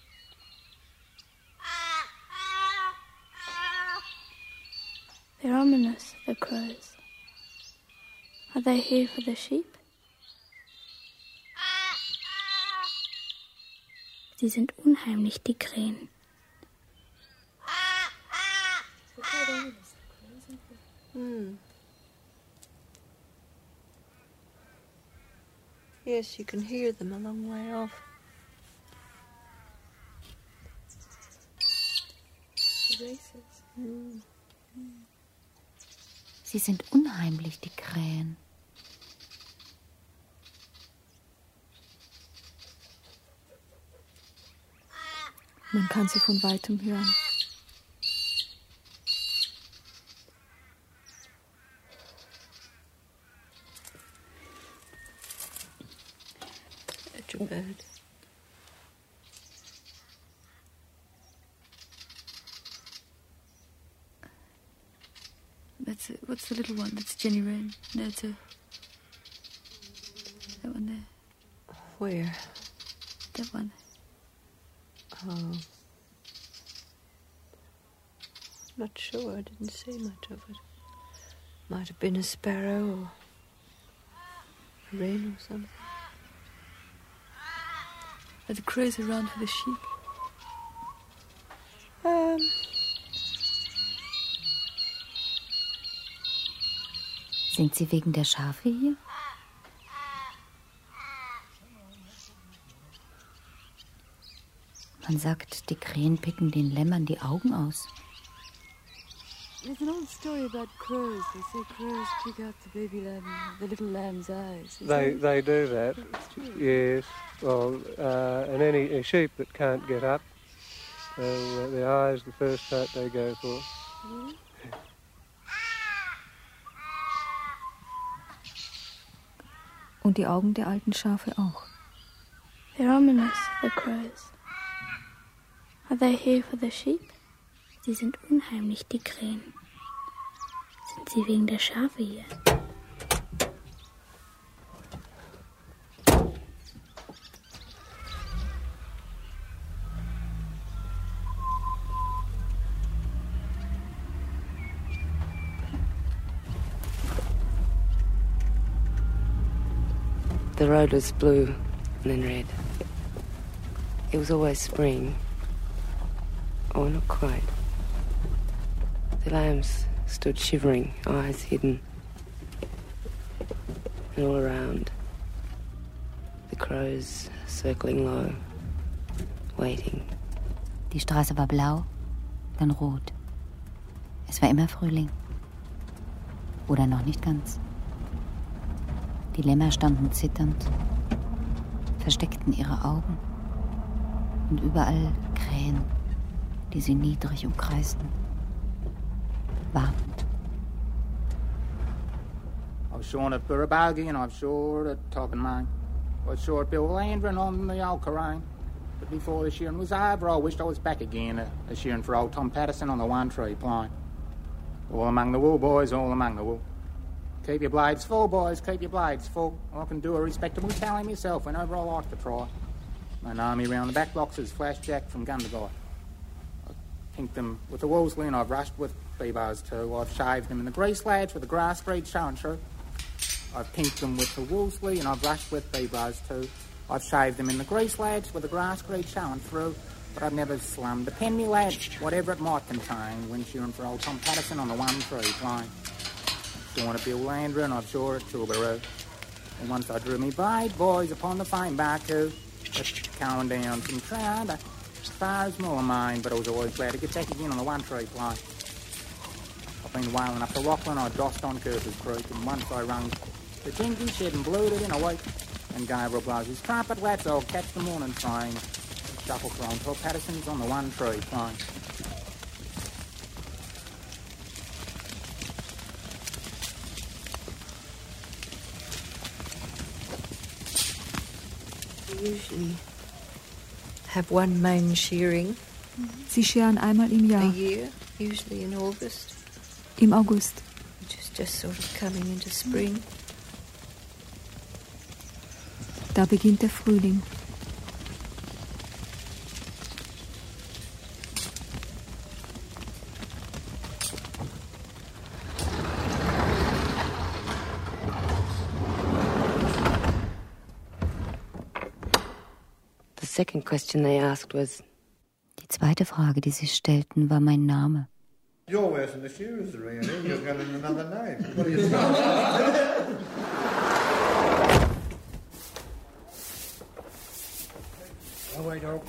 They're ominous, the crows. Are they here for the sheep? Sie sind unheimlich, die Krähen. Hmm. Yes, you can hear them a long way off. Mm. Sie sind unheimlich, die Krähen. Man kann sie von weitem hören. bird. That's a, what's the little one? That's Jenny Wren. No, it's a... That one there. Where? That one. Oh. Not sure. I didn't see much of it. Might have been a sparrow or a wren or something. Are the crows around for the sheep? Um... Sind Sie wegen der Schafe hier? Man sagt, die Krähen picken den Lämmern die Augen aus. There's an old story about crows. They say crows pick out the baby lamb, the little lamb's eyes. Is They that- they do that, yes. Well, uh, and any a sheep that can't get up, uh, the eyes, the first part they go for. Really? Und die Augen der alten Schafe auch. They're ominous, the crows. Are they here for the sheep? Sie sind unheimlich, die Krähen. Sind sie wegen der Schafe hier? The road was blue and then red. It was always spring. Oh, not quite. The lambs stood shivering, eyes hidden. And all around, the crows circling low, waiting. Die Straße war blau, dann rot. Es war immer Frühling. Oder noch nicht ganz. Die Lämmer standen zitternd, versteckten ihre Augen. Und überall Krähen, die sie niedrig umkreisten. Wartend. I was shorn at Burrabagi and I was short at Toppinmine. I was short at Bill Landrin on the old Corrine. But before the shearing was over, I wished I was back again a, a shearing for old Tom Patterson on the One Tree Plain. All among the wool, boys, all among the wool. Keep your blades full, boys, keep your blades full. I can do a respectable tally myself whenever I like to try. My army round the back blocks is Flash Jack from Gundagai. I've pinked them with the Wolseley and I've rushed with B-bars too. I've shaved them in the grease lads with the grass breed showing through. I've pinked them with the Wolseley and I've rushed with B-bars too. I've shaved them in the grease lads with the grass breed showing through. But I've never slummed a penny lad, whatever it might contain, when shearing for old Tom Patterson on the One Tree Plain. Shorn at Bill Landra and I've shore at Tilbury. And once I drew me blade, boys, upon the fine Barcoo, going down from Trout, as far as Mullermine, but I was always glad to get back again on the One Tree Plain. I've been whaling up to Rockland, I dossed on Curtis Creek, and once I rung the Jinky, shed and blued it in a week, and Gabriel blows his trumpet, lads, I'll catch the morning train, shuffle thrown till Patterson's on the One Tree Plain. Usually have one main shearing. Sie scheren einmal im A Jahr, year, usually in August, im August. which is just sort of coming into spring. Da beginnt der Frühling. The second question they asked was, Die zweite Frage, die sie stellten, war mein Name. You're worse than the shearers around here. You've got another name. What do you say? Oh, wait, dog.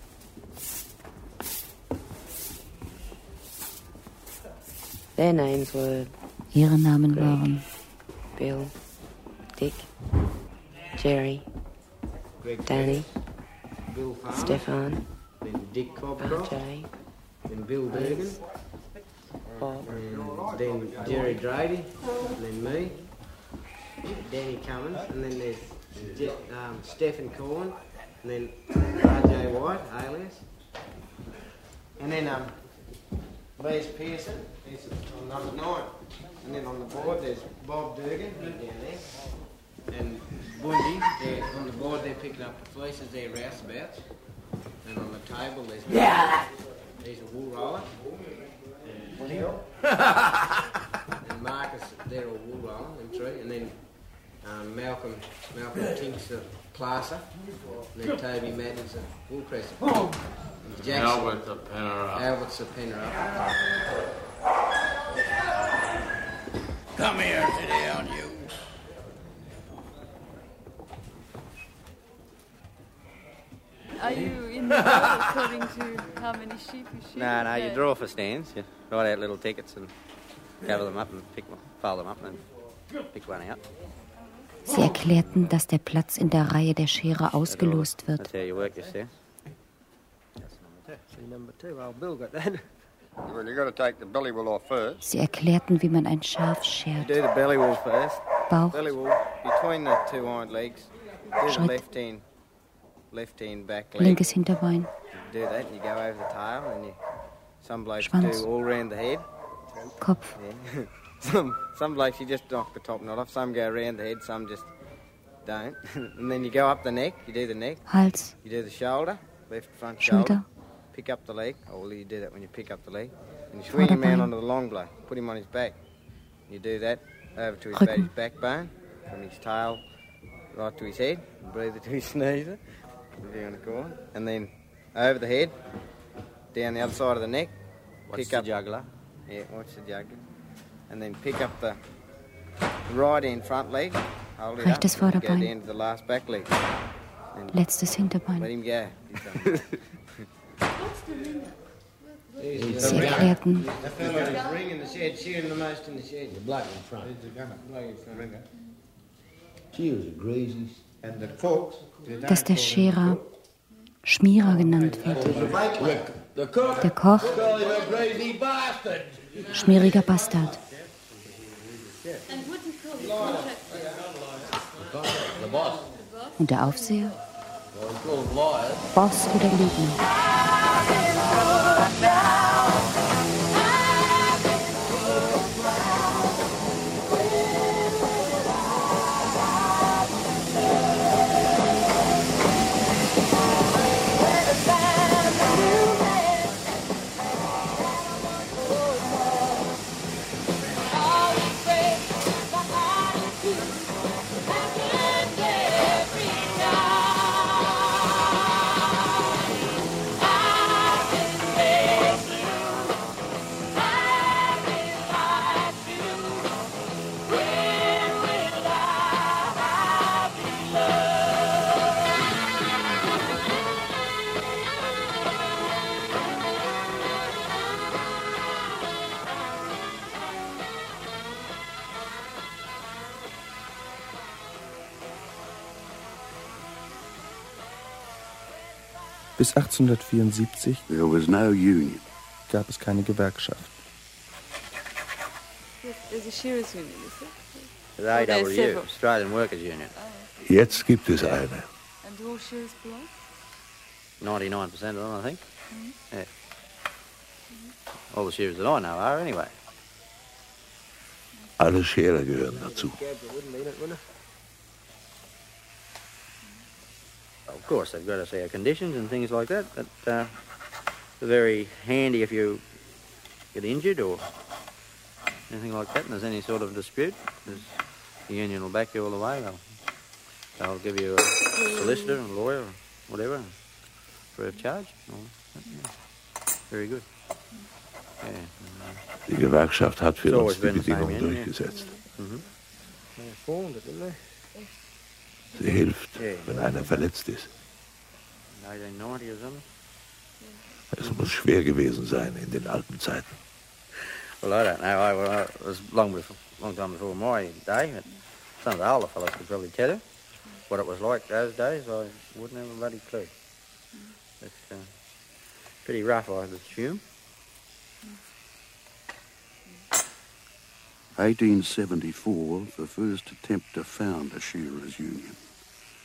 their names were Ihre Namen Greg, waren Bill, Dick, Jerry, Greg Danny, Bill Farmer, Stefan, then Dick R Cobcroft, J, then Bill Bergen, Bob, and then Jerry Grady, and then me, Danny Cummins, and then there's Je- um, Stephen Corn, and then R J White, alias. And then um, Les Pearson, he's on number nine. And then on the board there's Bob Durgan, he's down there. And Bundy, they're on the board, they're picking up the fleeces, they're rouseabouts. And on the table there's Yeah. He's a wool roller. And Neil. And Marcus, they're all wool roller, them three. And then um, Malcolm, Malcolm Tink's a classer. And then Toby Madden's a wool presser. And Jackson, Albert's a penner up. Albert's a penner up. Come here, sit down, you. Are you in the draw according to how many sheep you shoot? No, no, you Yeah. draw for stands. You write out little tickets and cover them up and pick one, fold them up and pick one out. Sie erklärten, dass der Platz in der Reihe der Scherer ausgelost wird. That's how you work your stands. That's number two. See, number two, old Bill got that. Well, you got to take the belly wool off first. Sie erklärten, wie man ein Schaf You schert. do the belly wool first. Bauch. Belly wool between the two hind legs. Do the Schritt. left hand, left hand back leg. Linkes Hinterbein. Do that. You go over the tail, and you. Some blokes Schwanz. do all round the head. Kopf. Yeah. some some blokes you just knock the top knot off. Some go around the head. Some just don't. And then you go up the neck. You do the neck. Hals. You do the shoulder, left front Schulter. shoulder. Pick up the leg. Oh, well, you do that when you pick up the leg. And you swing him out Vorderbein. onto the long blow. Put him on his back. You do that over to his, Rücken. back, his backbone, from his tail right to his head. Breathe it to his sneezer, whatever you want to call it. And then over the head, down the other side of the neck. Watch pick the up jugular. Yeah, watch the jugular. And then pick up the right end front leg. Hold it Rechtes up. And go Vorderbein. down to the last back leg. And Letztes Hinterbein. let him go. He's done. Sie erklärten, The fellow who's ringing the shed, shearing the most in the shed. The bloke in front. He's the gunner. Bloke in front. She was a greasy. And the cooks, they don't dass der call them Scherer Schmierer genannt wird. The cook. Der Koch, Call him a greasy bastard. schmieriger Bastard. And what do you call it? The boss. Und der Aufseher? Well, he called him liars. Boss oder Lügner. Bis achtzehnhundertvierundsiebzig There was no union. gab es keine Gewerkschaft. Yes, there's a shearers union, is there? The Well, A there's W U, several. Australian Workers Union. Jetzt gibt es eine. And do all shearers belong? ninety-nine percent of them, I think. Mhm. Yeah. All the shearers that I know are, anyway. Alle Scherer gehören dazu. Of course, they've got to see our conditions and things like that, but uh, they're very handy if you get injured or anything like that, and there's any sort of dispute. There's, the union will back you all the way. They'll, they'll give you a solicitor and a lawyer or whatever, free of charge. All that, yeah. Very good. Yeah. Die Gewerkschaft hat für It's uns always die been the same Bedingungen union, yeah. durchgesetzt. Mhm. They formed it, didn't they? Sie hilft, Ja. wenn einer verletzt ist. eighteen ninety or something. Es muss schwer gewesen sein in den alten Zeiten. Well, I don't know. I, well, I, it was long before, long time before my day. But some of the older fellows could probably tell you what it was like those days. I wouldn't have a bloody clue. It's uh, pretty rough, I would assume. eighteen seventy-four, the first attempt to found a shearers' union.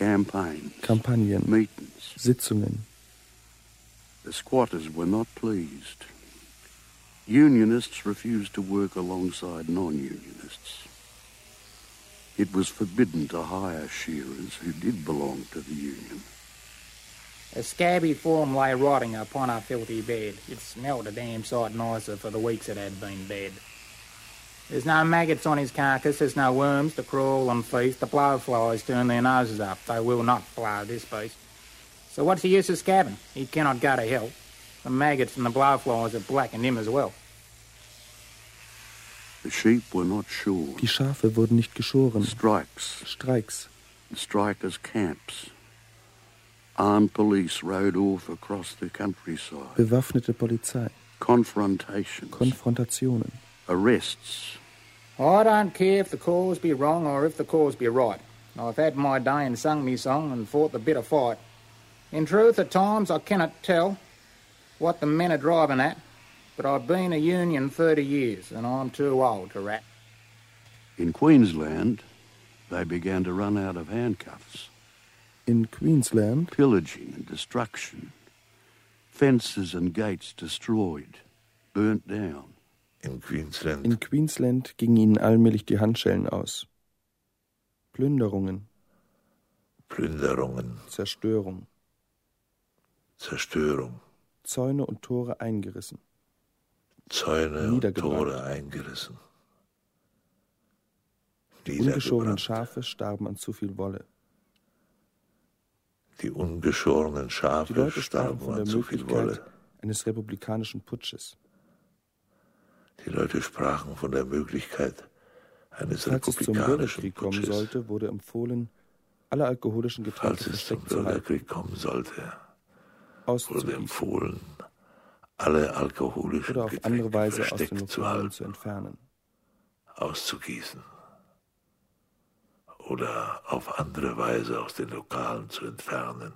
campaigns, Kampagnen, meetings. Sitzungen. The squatters were not pleased. Unionists refused to work alongside non-unionists. It was forbidden to hire shearers who did belong to the union. A scabby form lay rotting upon our filthy bed. It smelled a damn sight nicer for the weeks it had been dead. There's no maggots on his carcass, there's no worms to crawl and feast. The blowflies turn their noses up, they will not blow this beast. So what's the use of scabbing? He cannot go to hell. The maggots and the blowflies have blackened him as well. The sheep were not shorn. Die Schafe wurden nicht geschoren. Strikes. Streiks. The strikers' camps. Armed police rode off across the countryside. Bewaffnete Polizei. Confrontations. Konfrontationen. Arrests. I don't care if the cause be wrong or if the cause be right. I've had my day and sung me song and fought the bitter fight. In truth, at times I cannot tell what the men are driving at, but I've been a union thirty years and I'm too old to rat. In Queensland, they began to run out of handcuffs. In Queensland? Pillaging and destruction. Fences and gates destroyed, burnt down. In Queensland. In Queensland gingen ihnen allmählich die Handschellen aus. Plünderungen. Plünderungen. Zerstörung. Zerstörung. Zäune und Tore eingerissen. Zäune und Tore eingerissen. Die ungeschorenen Schafe starben an zu viel Wolle. Die ungeschorenen Schafe Die Leute starben von an der zu viel Wolle. Möglichkeit eines republikanischen Putsches. Die Leute sprachen von der Möglichkeit eines Falls es zum republikanischen Bürgerkrieg kommen Putsches. sollte, wurde empfohlen, alle alkoholischen Getränke Falls es zum versteckt zu halten. Bürgerkrieg kommen sollte, wurde Auszugießen. empfohlen, alle alkoholischen Oder auf Getränke andere Weise aus versteckt den zu Lokalen halten, zu entfernen. auszugießen oder auf andere Weise aus den Lokalen zu entfernen.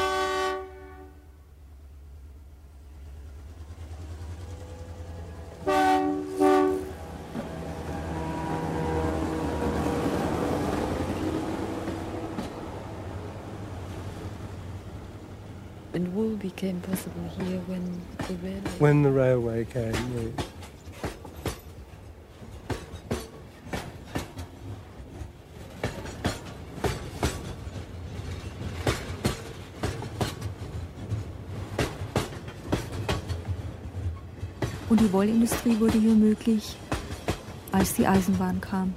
And wool became possible here when the railway... When the railway came, yes. Und die Wollindustrie wurde hier möglich, als die Eisenbahn kam.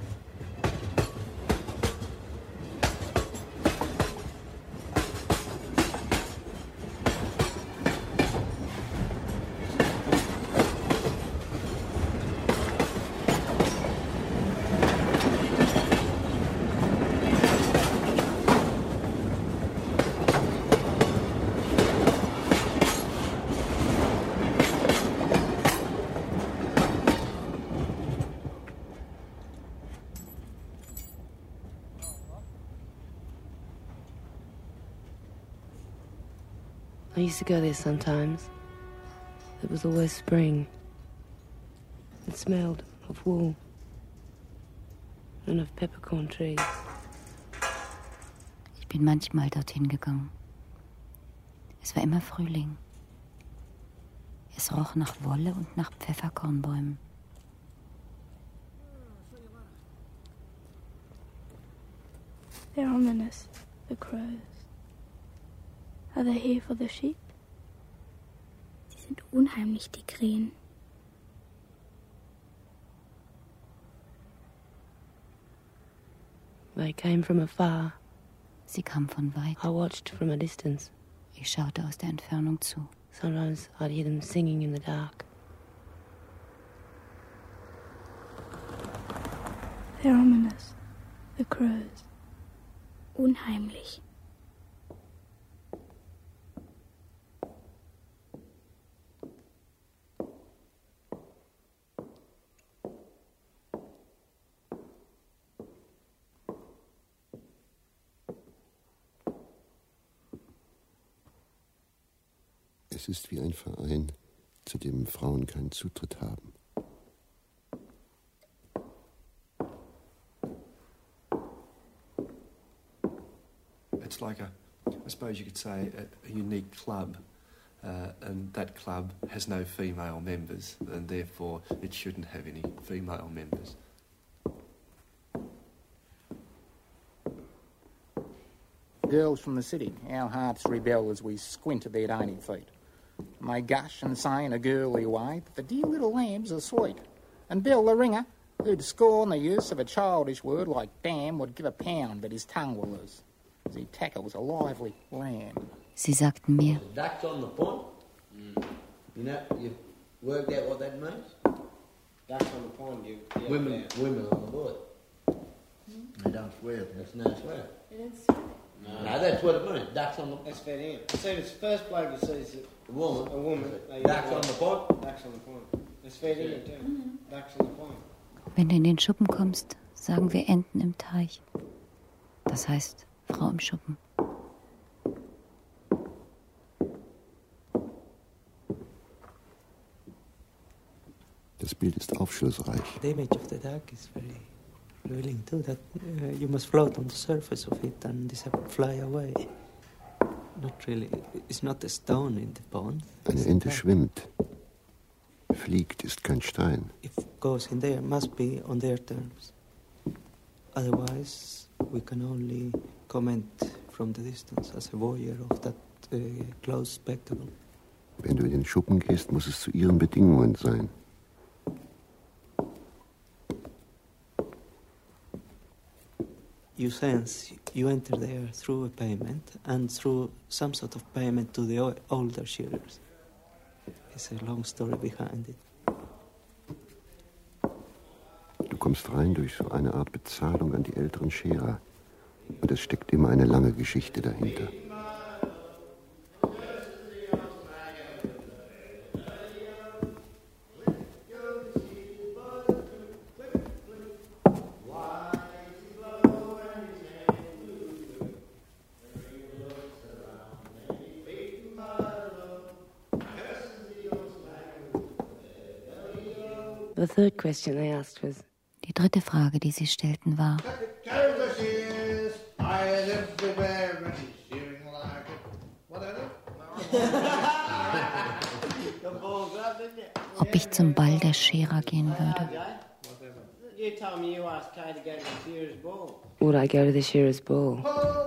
I used to go there sometimes. It was always spring. It smelled of wool and of peppercorn trees. Ich bin manchmal dorthin gegangen. Es war immer Frühling. Es roch nach Wolle und nach Pfefferkornbäumen. They're ominous, the crows. Are they here for the sheep? Sie sind unheimlich, die Krähen. They came from afar. Sie kam von weit. I watched from a distance. Ich schaute aus der Entfernung zu. Sometimes I'd hear them singing in the dark. They're ominous, the crows. Unheimlich. Es ist wie ein Verein, zu dem Frauen keinen Zutritt haben. It's like a, I suppose you could say, a, a unique club, uh, and that club has no female members, and therefore it shouldn't have any female members. Girls from the city, our hearts rebel as we squint at their dainty feet. And they gush and say in a girly way that the dear little lambs are sweet. And Bill the ringer, who'd scorn the use of a childish word like damn, would give a pound but his tongue will lose, as he tackles a lively lamb. Sie sagten mir, Ducks on the pond. Mm. You know, you've worked out what that means? Ducks on the pond, you... Yeah, women, yeah. Women on the board. Mm. They don't swear, that's no swear. They don't swear? No. No, that's what it means, ducks on the... That's fair in. See, it's the first bloke who sees it. A woman. A woman. Ducks on the pond. Ducks on the pond. That's fair in too. Mm-hmm. Ducks on the pond. wenn du in den Schuppen kommst, sagen wir Enten im Teich. Das heißt, Frau im Schuppen. Das Bild ist aufschlussreich. The image of the duck is very revealing too, that uh, you must float on the surface of it and fly away. Not really, it's not a stone in the pond. Eine Ente schwimmt. Fliegt ist kein Stein. If it goes in there, must be on their terms. Otherwise, we can only comment from the distance as a voyeur of that uh, close spectacle. Wenn du in den Schuppen gehst, muss es zu ihren Bedingungen sein. You sense you enter there through a payment and through some sort of payment to the older shearers. There's a long story behind it. Du kommst rein durch so eine Art Bezahlung an die älteren Scherer. Und es steckt immer eine lange Geschichte dahinter. The third question they asked was, Die dritte Frage, die sie stellten, war, ob ich zum Ball der Scherer gehen würde. would I go to the shearer's ball?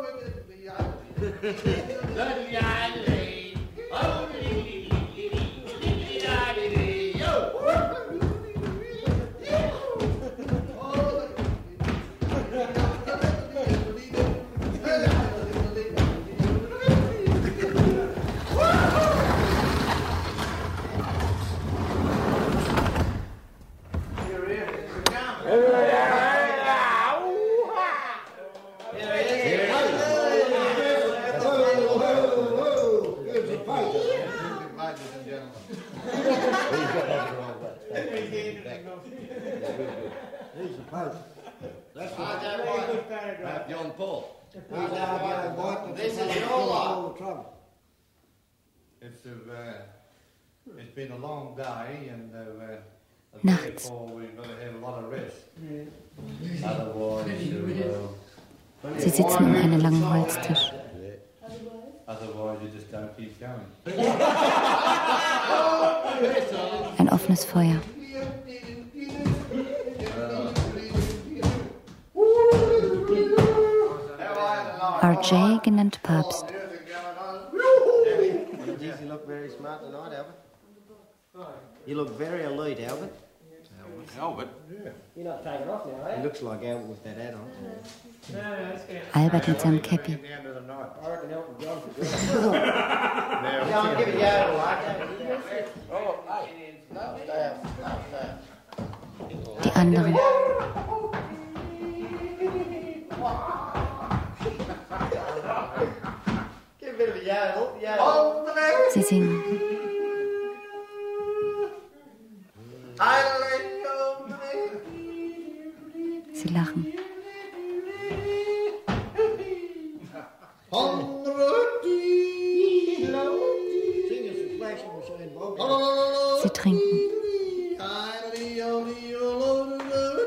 John Paul. This is your lot. It's, uh, it's been a long day, and uh, therefore we've got to have a lot of rest. Yeah. Otherwise, you, uh, Sie sitzen um einen langen Holztisch. Otherwise, you just don't keep going. Ein offenes Feuer. R J, genannt Papst. You look very smart tonight, Albert. You look very alert, Albert. Albert? Yeah. You're not taking off now, eh? He looks like Albert with that hat on. Albert mit seinem Käppi. Die anderen. Sie singen. Sie lachen. Sie trinken.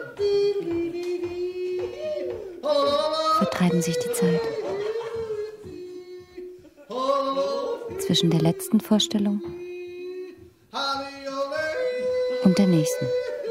Vertreiben sich die Zeit. zwischen der letzten Vorstellung und der nächsten.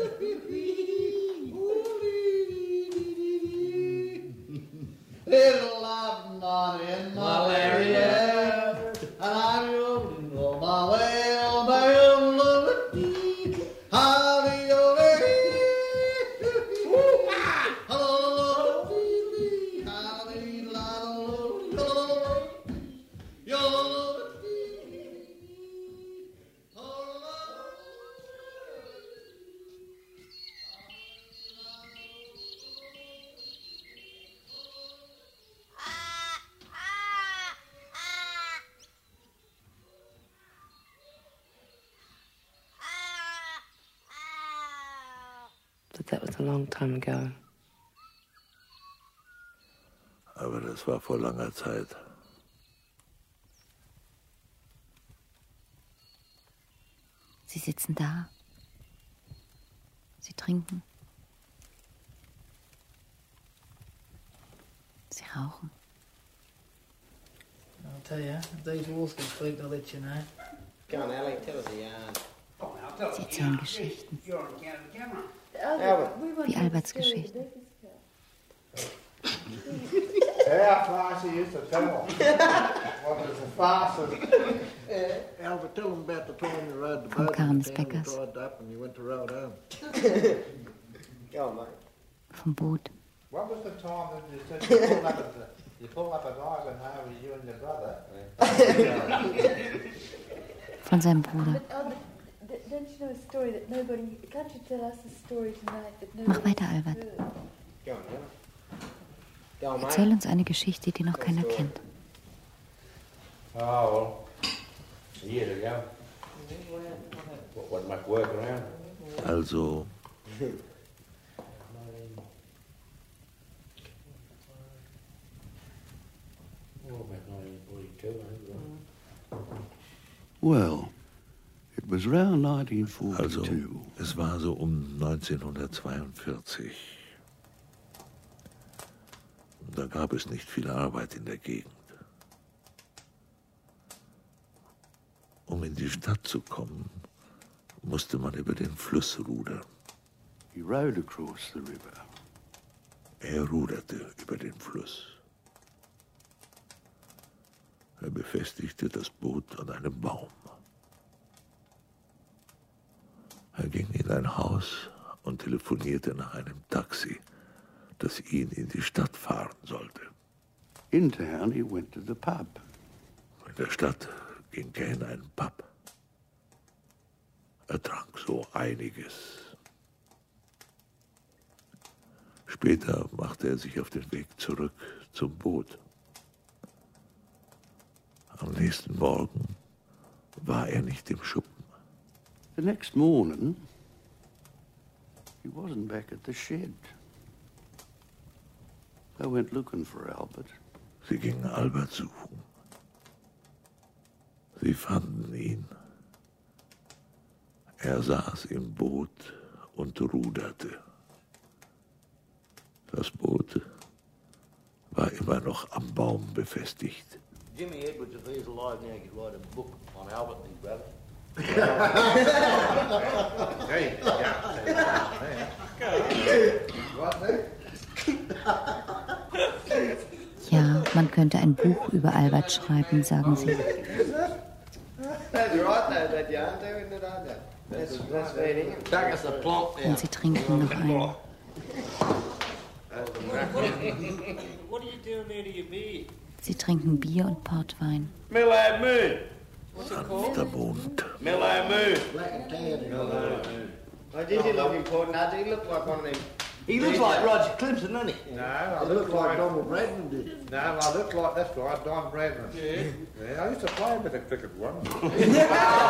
But that was a long time ago. Aber das war vor langer Zeit. Sie sitzen da. Sie trinken. Sie rauchen. I'll tell you, if these walls can speak, I'll let you know. Come on, Ellie, tell us a yarn. Sie erzählen Geschichten. You're on camera. Albert. Wie Alberts Geschichten. How fast he used to tell them. What is the fastest? Albert, tell them about the time you rode the Vom boat Karns in town, you Beckers. dried up and you went to road home. Go on, mate. Vom Boot. What was the time that you said you pulled up at the, you pulled up at Ivanhoe with you and your brother? Von seinem Bruder. But Albert, d- don't you know a story that nobody... Can't you tell us a story tonight that nobody... Mach weiter, Albert. Go on, Go on, mate. Erzähl uns eine Geschichte, die noch keiner kennt. Oh, well, years ago. Wasn't much work around. Also, Well, it was round nineteen also, forty-two. es war so um neunzehnhundertzweiundvierzig. Da gab es nicht viel Arbeit in der Gegend. Um in die Stadt zu kommen, musste man über den Fluss rudern. He rowed across the river. Er ruderte über den Fluss. Er befestigte das Boot an einem Baum. Er ging in ein Haus und telefonierte nach einem Taxi, das ihn in die Stadt fahren sollte. In town, he went to the pub. In der Stadt ging er in einen Pub. Er trank so einiges. Später machte er sich auf den Weg zurück zum Boot. Am nächsten Morgen war er nicht im Schuppen. The next morning, he wasn't back at the shed. They went looking for Albert. Sie gingen Albert suchen. Sie fanden ihn. Er saß im Boot und ruderte. Das Boot war immer noch am Baum befestigt. Jimmy Edwards, if he's alive now, could write a book on Albert and his brother. Hey, Ja, man könnte ein Buch über Albert schreiben, sagen sie. That's right, though, that yarn, too, isn't it, Albert? That's, that's feeding him. Back us the plonk now. Und sie trinken noch ein. What are you doing there to your beer? Sie trinken Bier und Portwein. Midland Moon. What's it Sanfter called? Mond. Midland Moon. Black and tan. Midland Moon. Oh, did he look important? How did he look like one of them? He looks like Roger Clemson, doesn't he? No, I He look looks like like Donald Bradman did. No, I look like, that's right, Don Bradman. Yeah. Yeah, I used to play a bit of cricket once. Yeah.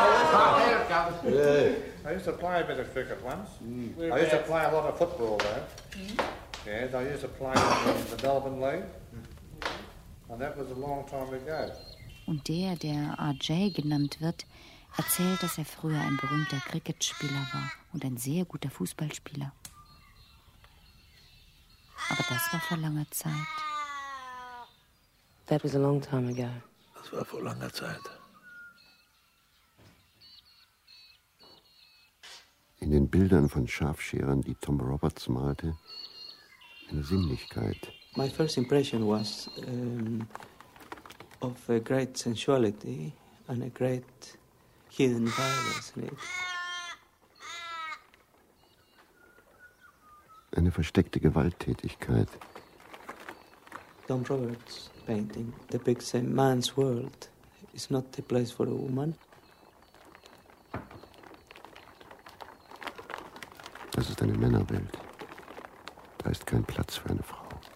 I used to play a bit of cricket once. Mm. I used to play a lot of football though. Mm. Yes, I used to play in the Melbourne League. And that was a long time ago. Und der, der R J genannt wird, erzählt, dass er früher ein berühmter Cricketspieler war und ein sehr guter Fußballspieler. Aber das war vor langer Zeit. That was a long time ago. Das war vor langer Zeit. In den Bildern von Schafscherern, die Tom Roberts malte, eine Sinnlichkeit. My first impression was um, of a great sensuality and a great hidden violence in it. Eine versteckte Gewalttätigkeit. Tom Roberts' painting depicts a man's world. It's not a place for a woman. Das ist eine Männerwelt. Da ist kein Platz für eine Frau.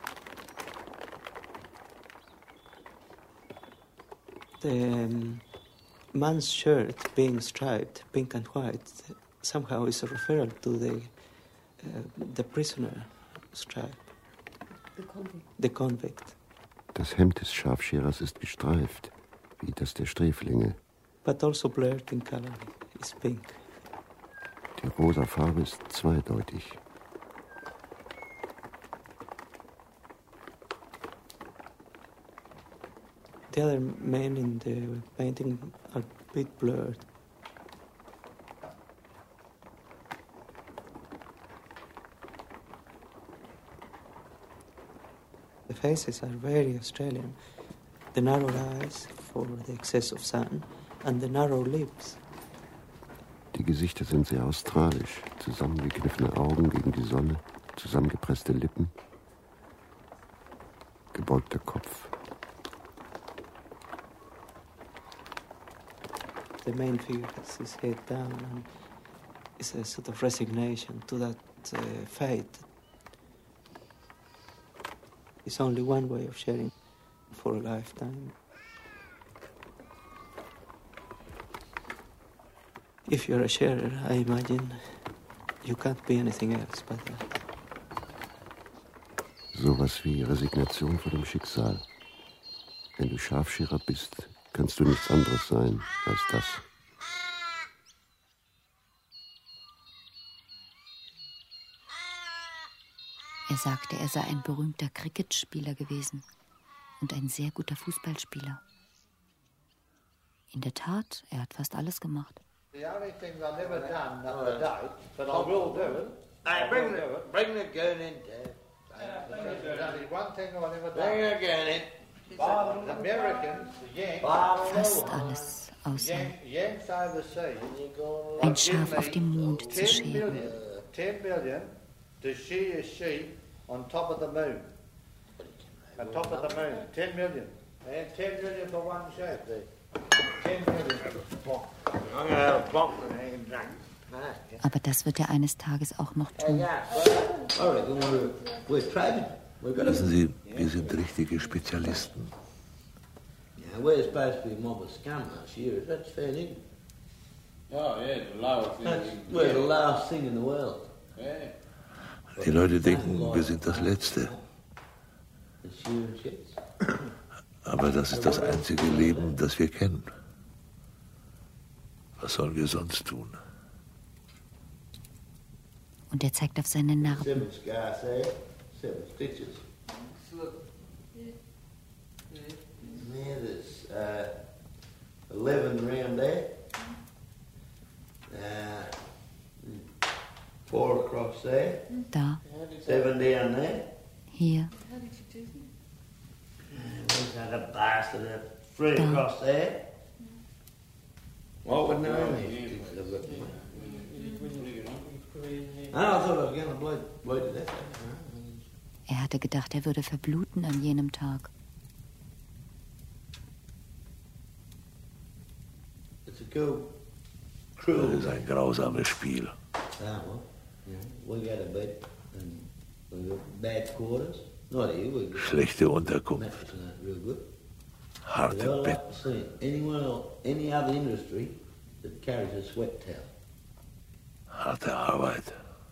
The um, man's shirt being striped, pink and white, somehow is a referral to the uh, the prisoner stripe. The convict. The convict. Das Hemd des Schafscherers ist gestreift, wie das der Sträflinge. But also blurred in color. It's pink. Die rosa Farbe ist zweideutig. The other men in the painting are a bit blurred. The faces are very Australian. The narrow eyes for the excess of sun and the narrow lips. Die Gesichter sind sehr australisch. Zusammengekniffene Augen gegen die Sonne, zusammengepresste Lippen, gebeugter Kopf. The main figure has his head down and is a sort of resignation to that uh, fate. It's only one way of sharing for a lifetime. If you're a sharer, I imagine you can't be anything else but that. Sowas wie Resignation vor dem Schicksal. Wenn du Schafscherer bist, kannst du nichts anderes sein als das. Er sagte, er sei ein berühmter Cricketspieler gewesen und ein sehr guter Fußballspieler. In der Tat, er hat fast alles gemacht. The only thing I never done up to date, but I will do it. Hey, bring the, bring the gun in, Dad. There's only one thing I never done. Bring the gun in. The Americans, the Yanks, Fast alles außer Yanks overseas, ein Schaf auf dem Mond zu scheren. ten million to shear a sheep on top of the moon. On top of the moon, ten million. And ten million for one sheep there. ten million. I'm gonna have a bump and hang and drink. Aber das wird er eines Tages auch noch tun. Wissen Sie, wir sind richtige Spezialisten. Yeah, we're supposed to be a mob of scum last year. That's fair, isn't it? Oh, yeah, the lowest thing. That's, we're the last thing in the world. Yeah. Die Leute denken, wir sind das Letzte. Aber das ist das einzige Leben, das wir kennen. Was sollen wir sonst tun? Und er zeigt auf seine Narben. Seven scars there, seven stitches. There, there's uh, eleven round there. Uh, four across there. Da. Seven down there. Hier. Uh, where's that a bastard? Uh, three da. Across there. What would know me? I thought I was going to blow, blow to death. Er hatte gedacht, er würde verbluten an jenem Tag. It's a cool, cruel. Das ist ein grausames Spiel. Ah, well, yeah. We got a bed and we got bad quarters. Not here, we got Schlechte Unterkunft. mattresses aren't real good. Harte Well, Bett. I've seen anyone else, any other industry that carries a sweat towel. Harte Arbeit.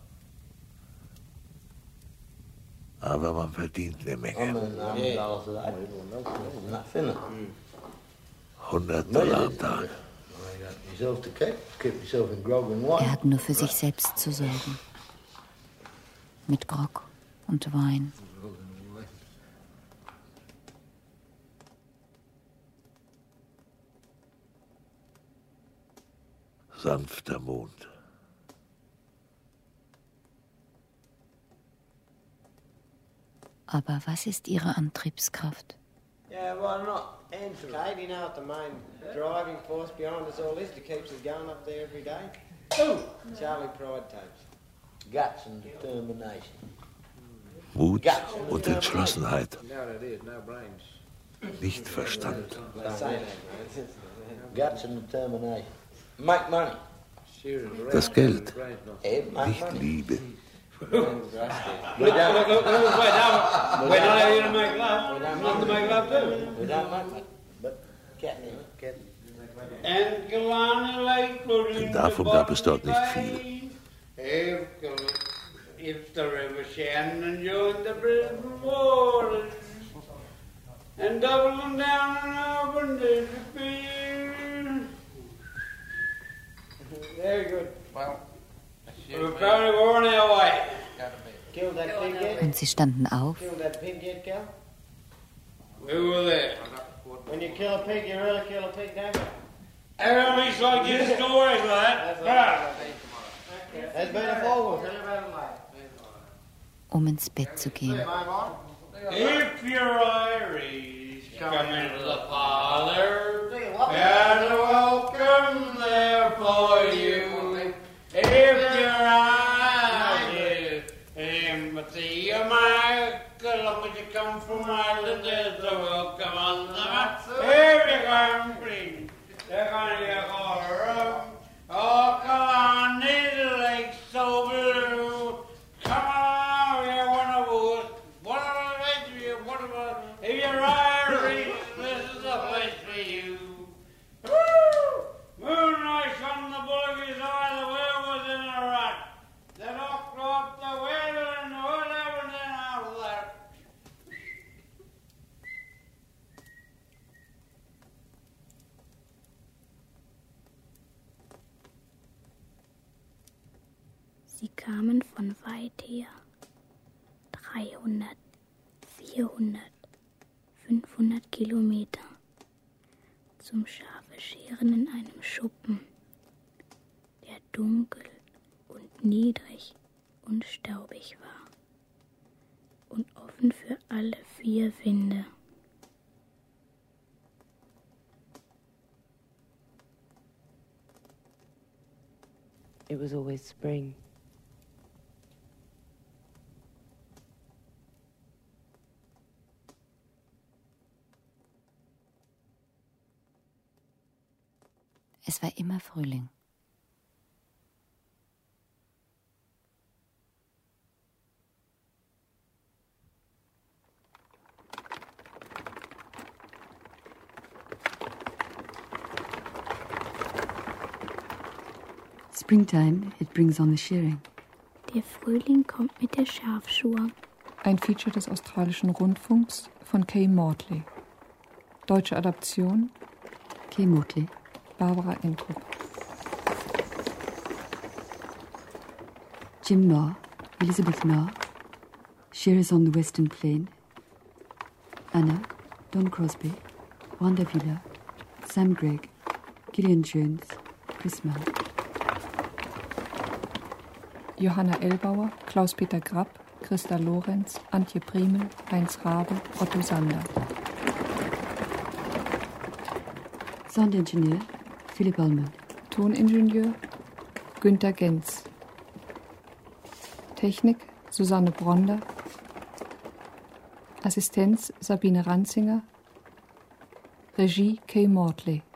Aber man verdient eine I Menge. mean, I'm yeah. dollars a day. Enough, isn't it? hundert Dollar am Tag. You got yourself to keep, keep yourself in grog and wine. Er hat nur für sich selbst zu sorgen. Mit Grog und Wein. Sanfter Mond. Aber was ist ihre Antriebskraft? Yeah, well, not Kate, you know what the main driving force behind us all is that keeps us going up there every day? Oh! Charlie Pride tapes. Guts and determination. Mut und Entschlossenheit, You know what it is, no brains. nicht Verstand. They say that, man. Guts and determination. Make money. Das Geld, Eh, make nicht money. Liebe. We don't. Look, look, look, look, wait, now, we're not here to make love. We're not to make love too. We don't make love. But get me, get me. And Killarney Lake was in Davon the gab es dort nicht bottom of the viel. bay. If, Kil- if the river Shannon joined the Brisbane waters and doubling down and up and disappear. Very good. Well, We're probably going our way. killed that pig yet? Und sie standen auf, Killed that pig yet, Cal? We were there. When you kill a pig, you really kill a pig, don't you? At least I get stories of that. Ah. There's been a fall. Tell you about it later. um ins Bett zu gehen. If you're Irish, come into the parlor. There's a welcome there for you. If you're Irish, empathy, America, long as you come from Ireland, there's a welcome on the map. If you come free, they're gonna get all around. Oh, come on, these lakes so blue. Come on, you're one of us. One of us, you, one of us. If you're Irish, this is the place for you. Woo! Moonlight on the bullock's eye, the whale was in a rut. The knocked off the whale and the whole everything out of that. Sie kamen von weit her. dreihundert, vierhundert, fünfhundert Kilometer. Zum Schafe scheren in einem Schuppen, der dunkel und niedrig und staubig war und offen für alle vier Winde. It was always spring. Es war immer Frühling. Springtime, it brings on the shearing. Der Frühling kommt mit der Schafschur. Ein Feature des australischen Rundfunks von Kay Mortley. Deutsche Adaption Kay Mortley. Barbara Entrup. Jim Knorr, Elizabeth Knorr, Shearers on the Western Plain, Anna, Don Crosby, Wanda Villa, Sam Gregg, Gillian Jones, Chris Mann. Johanna Ellbauer, Klaus-Peter Grapp, Christa Lorenz, Antje Priemel, Heinz Rabe, Otto Sander. Soundingenieur Philipp Allman. Toningenieur Günter Genz. Technik Susanne Bronder. Assistenz Sabine Ranzinger. Regie Kay Mortley.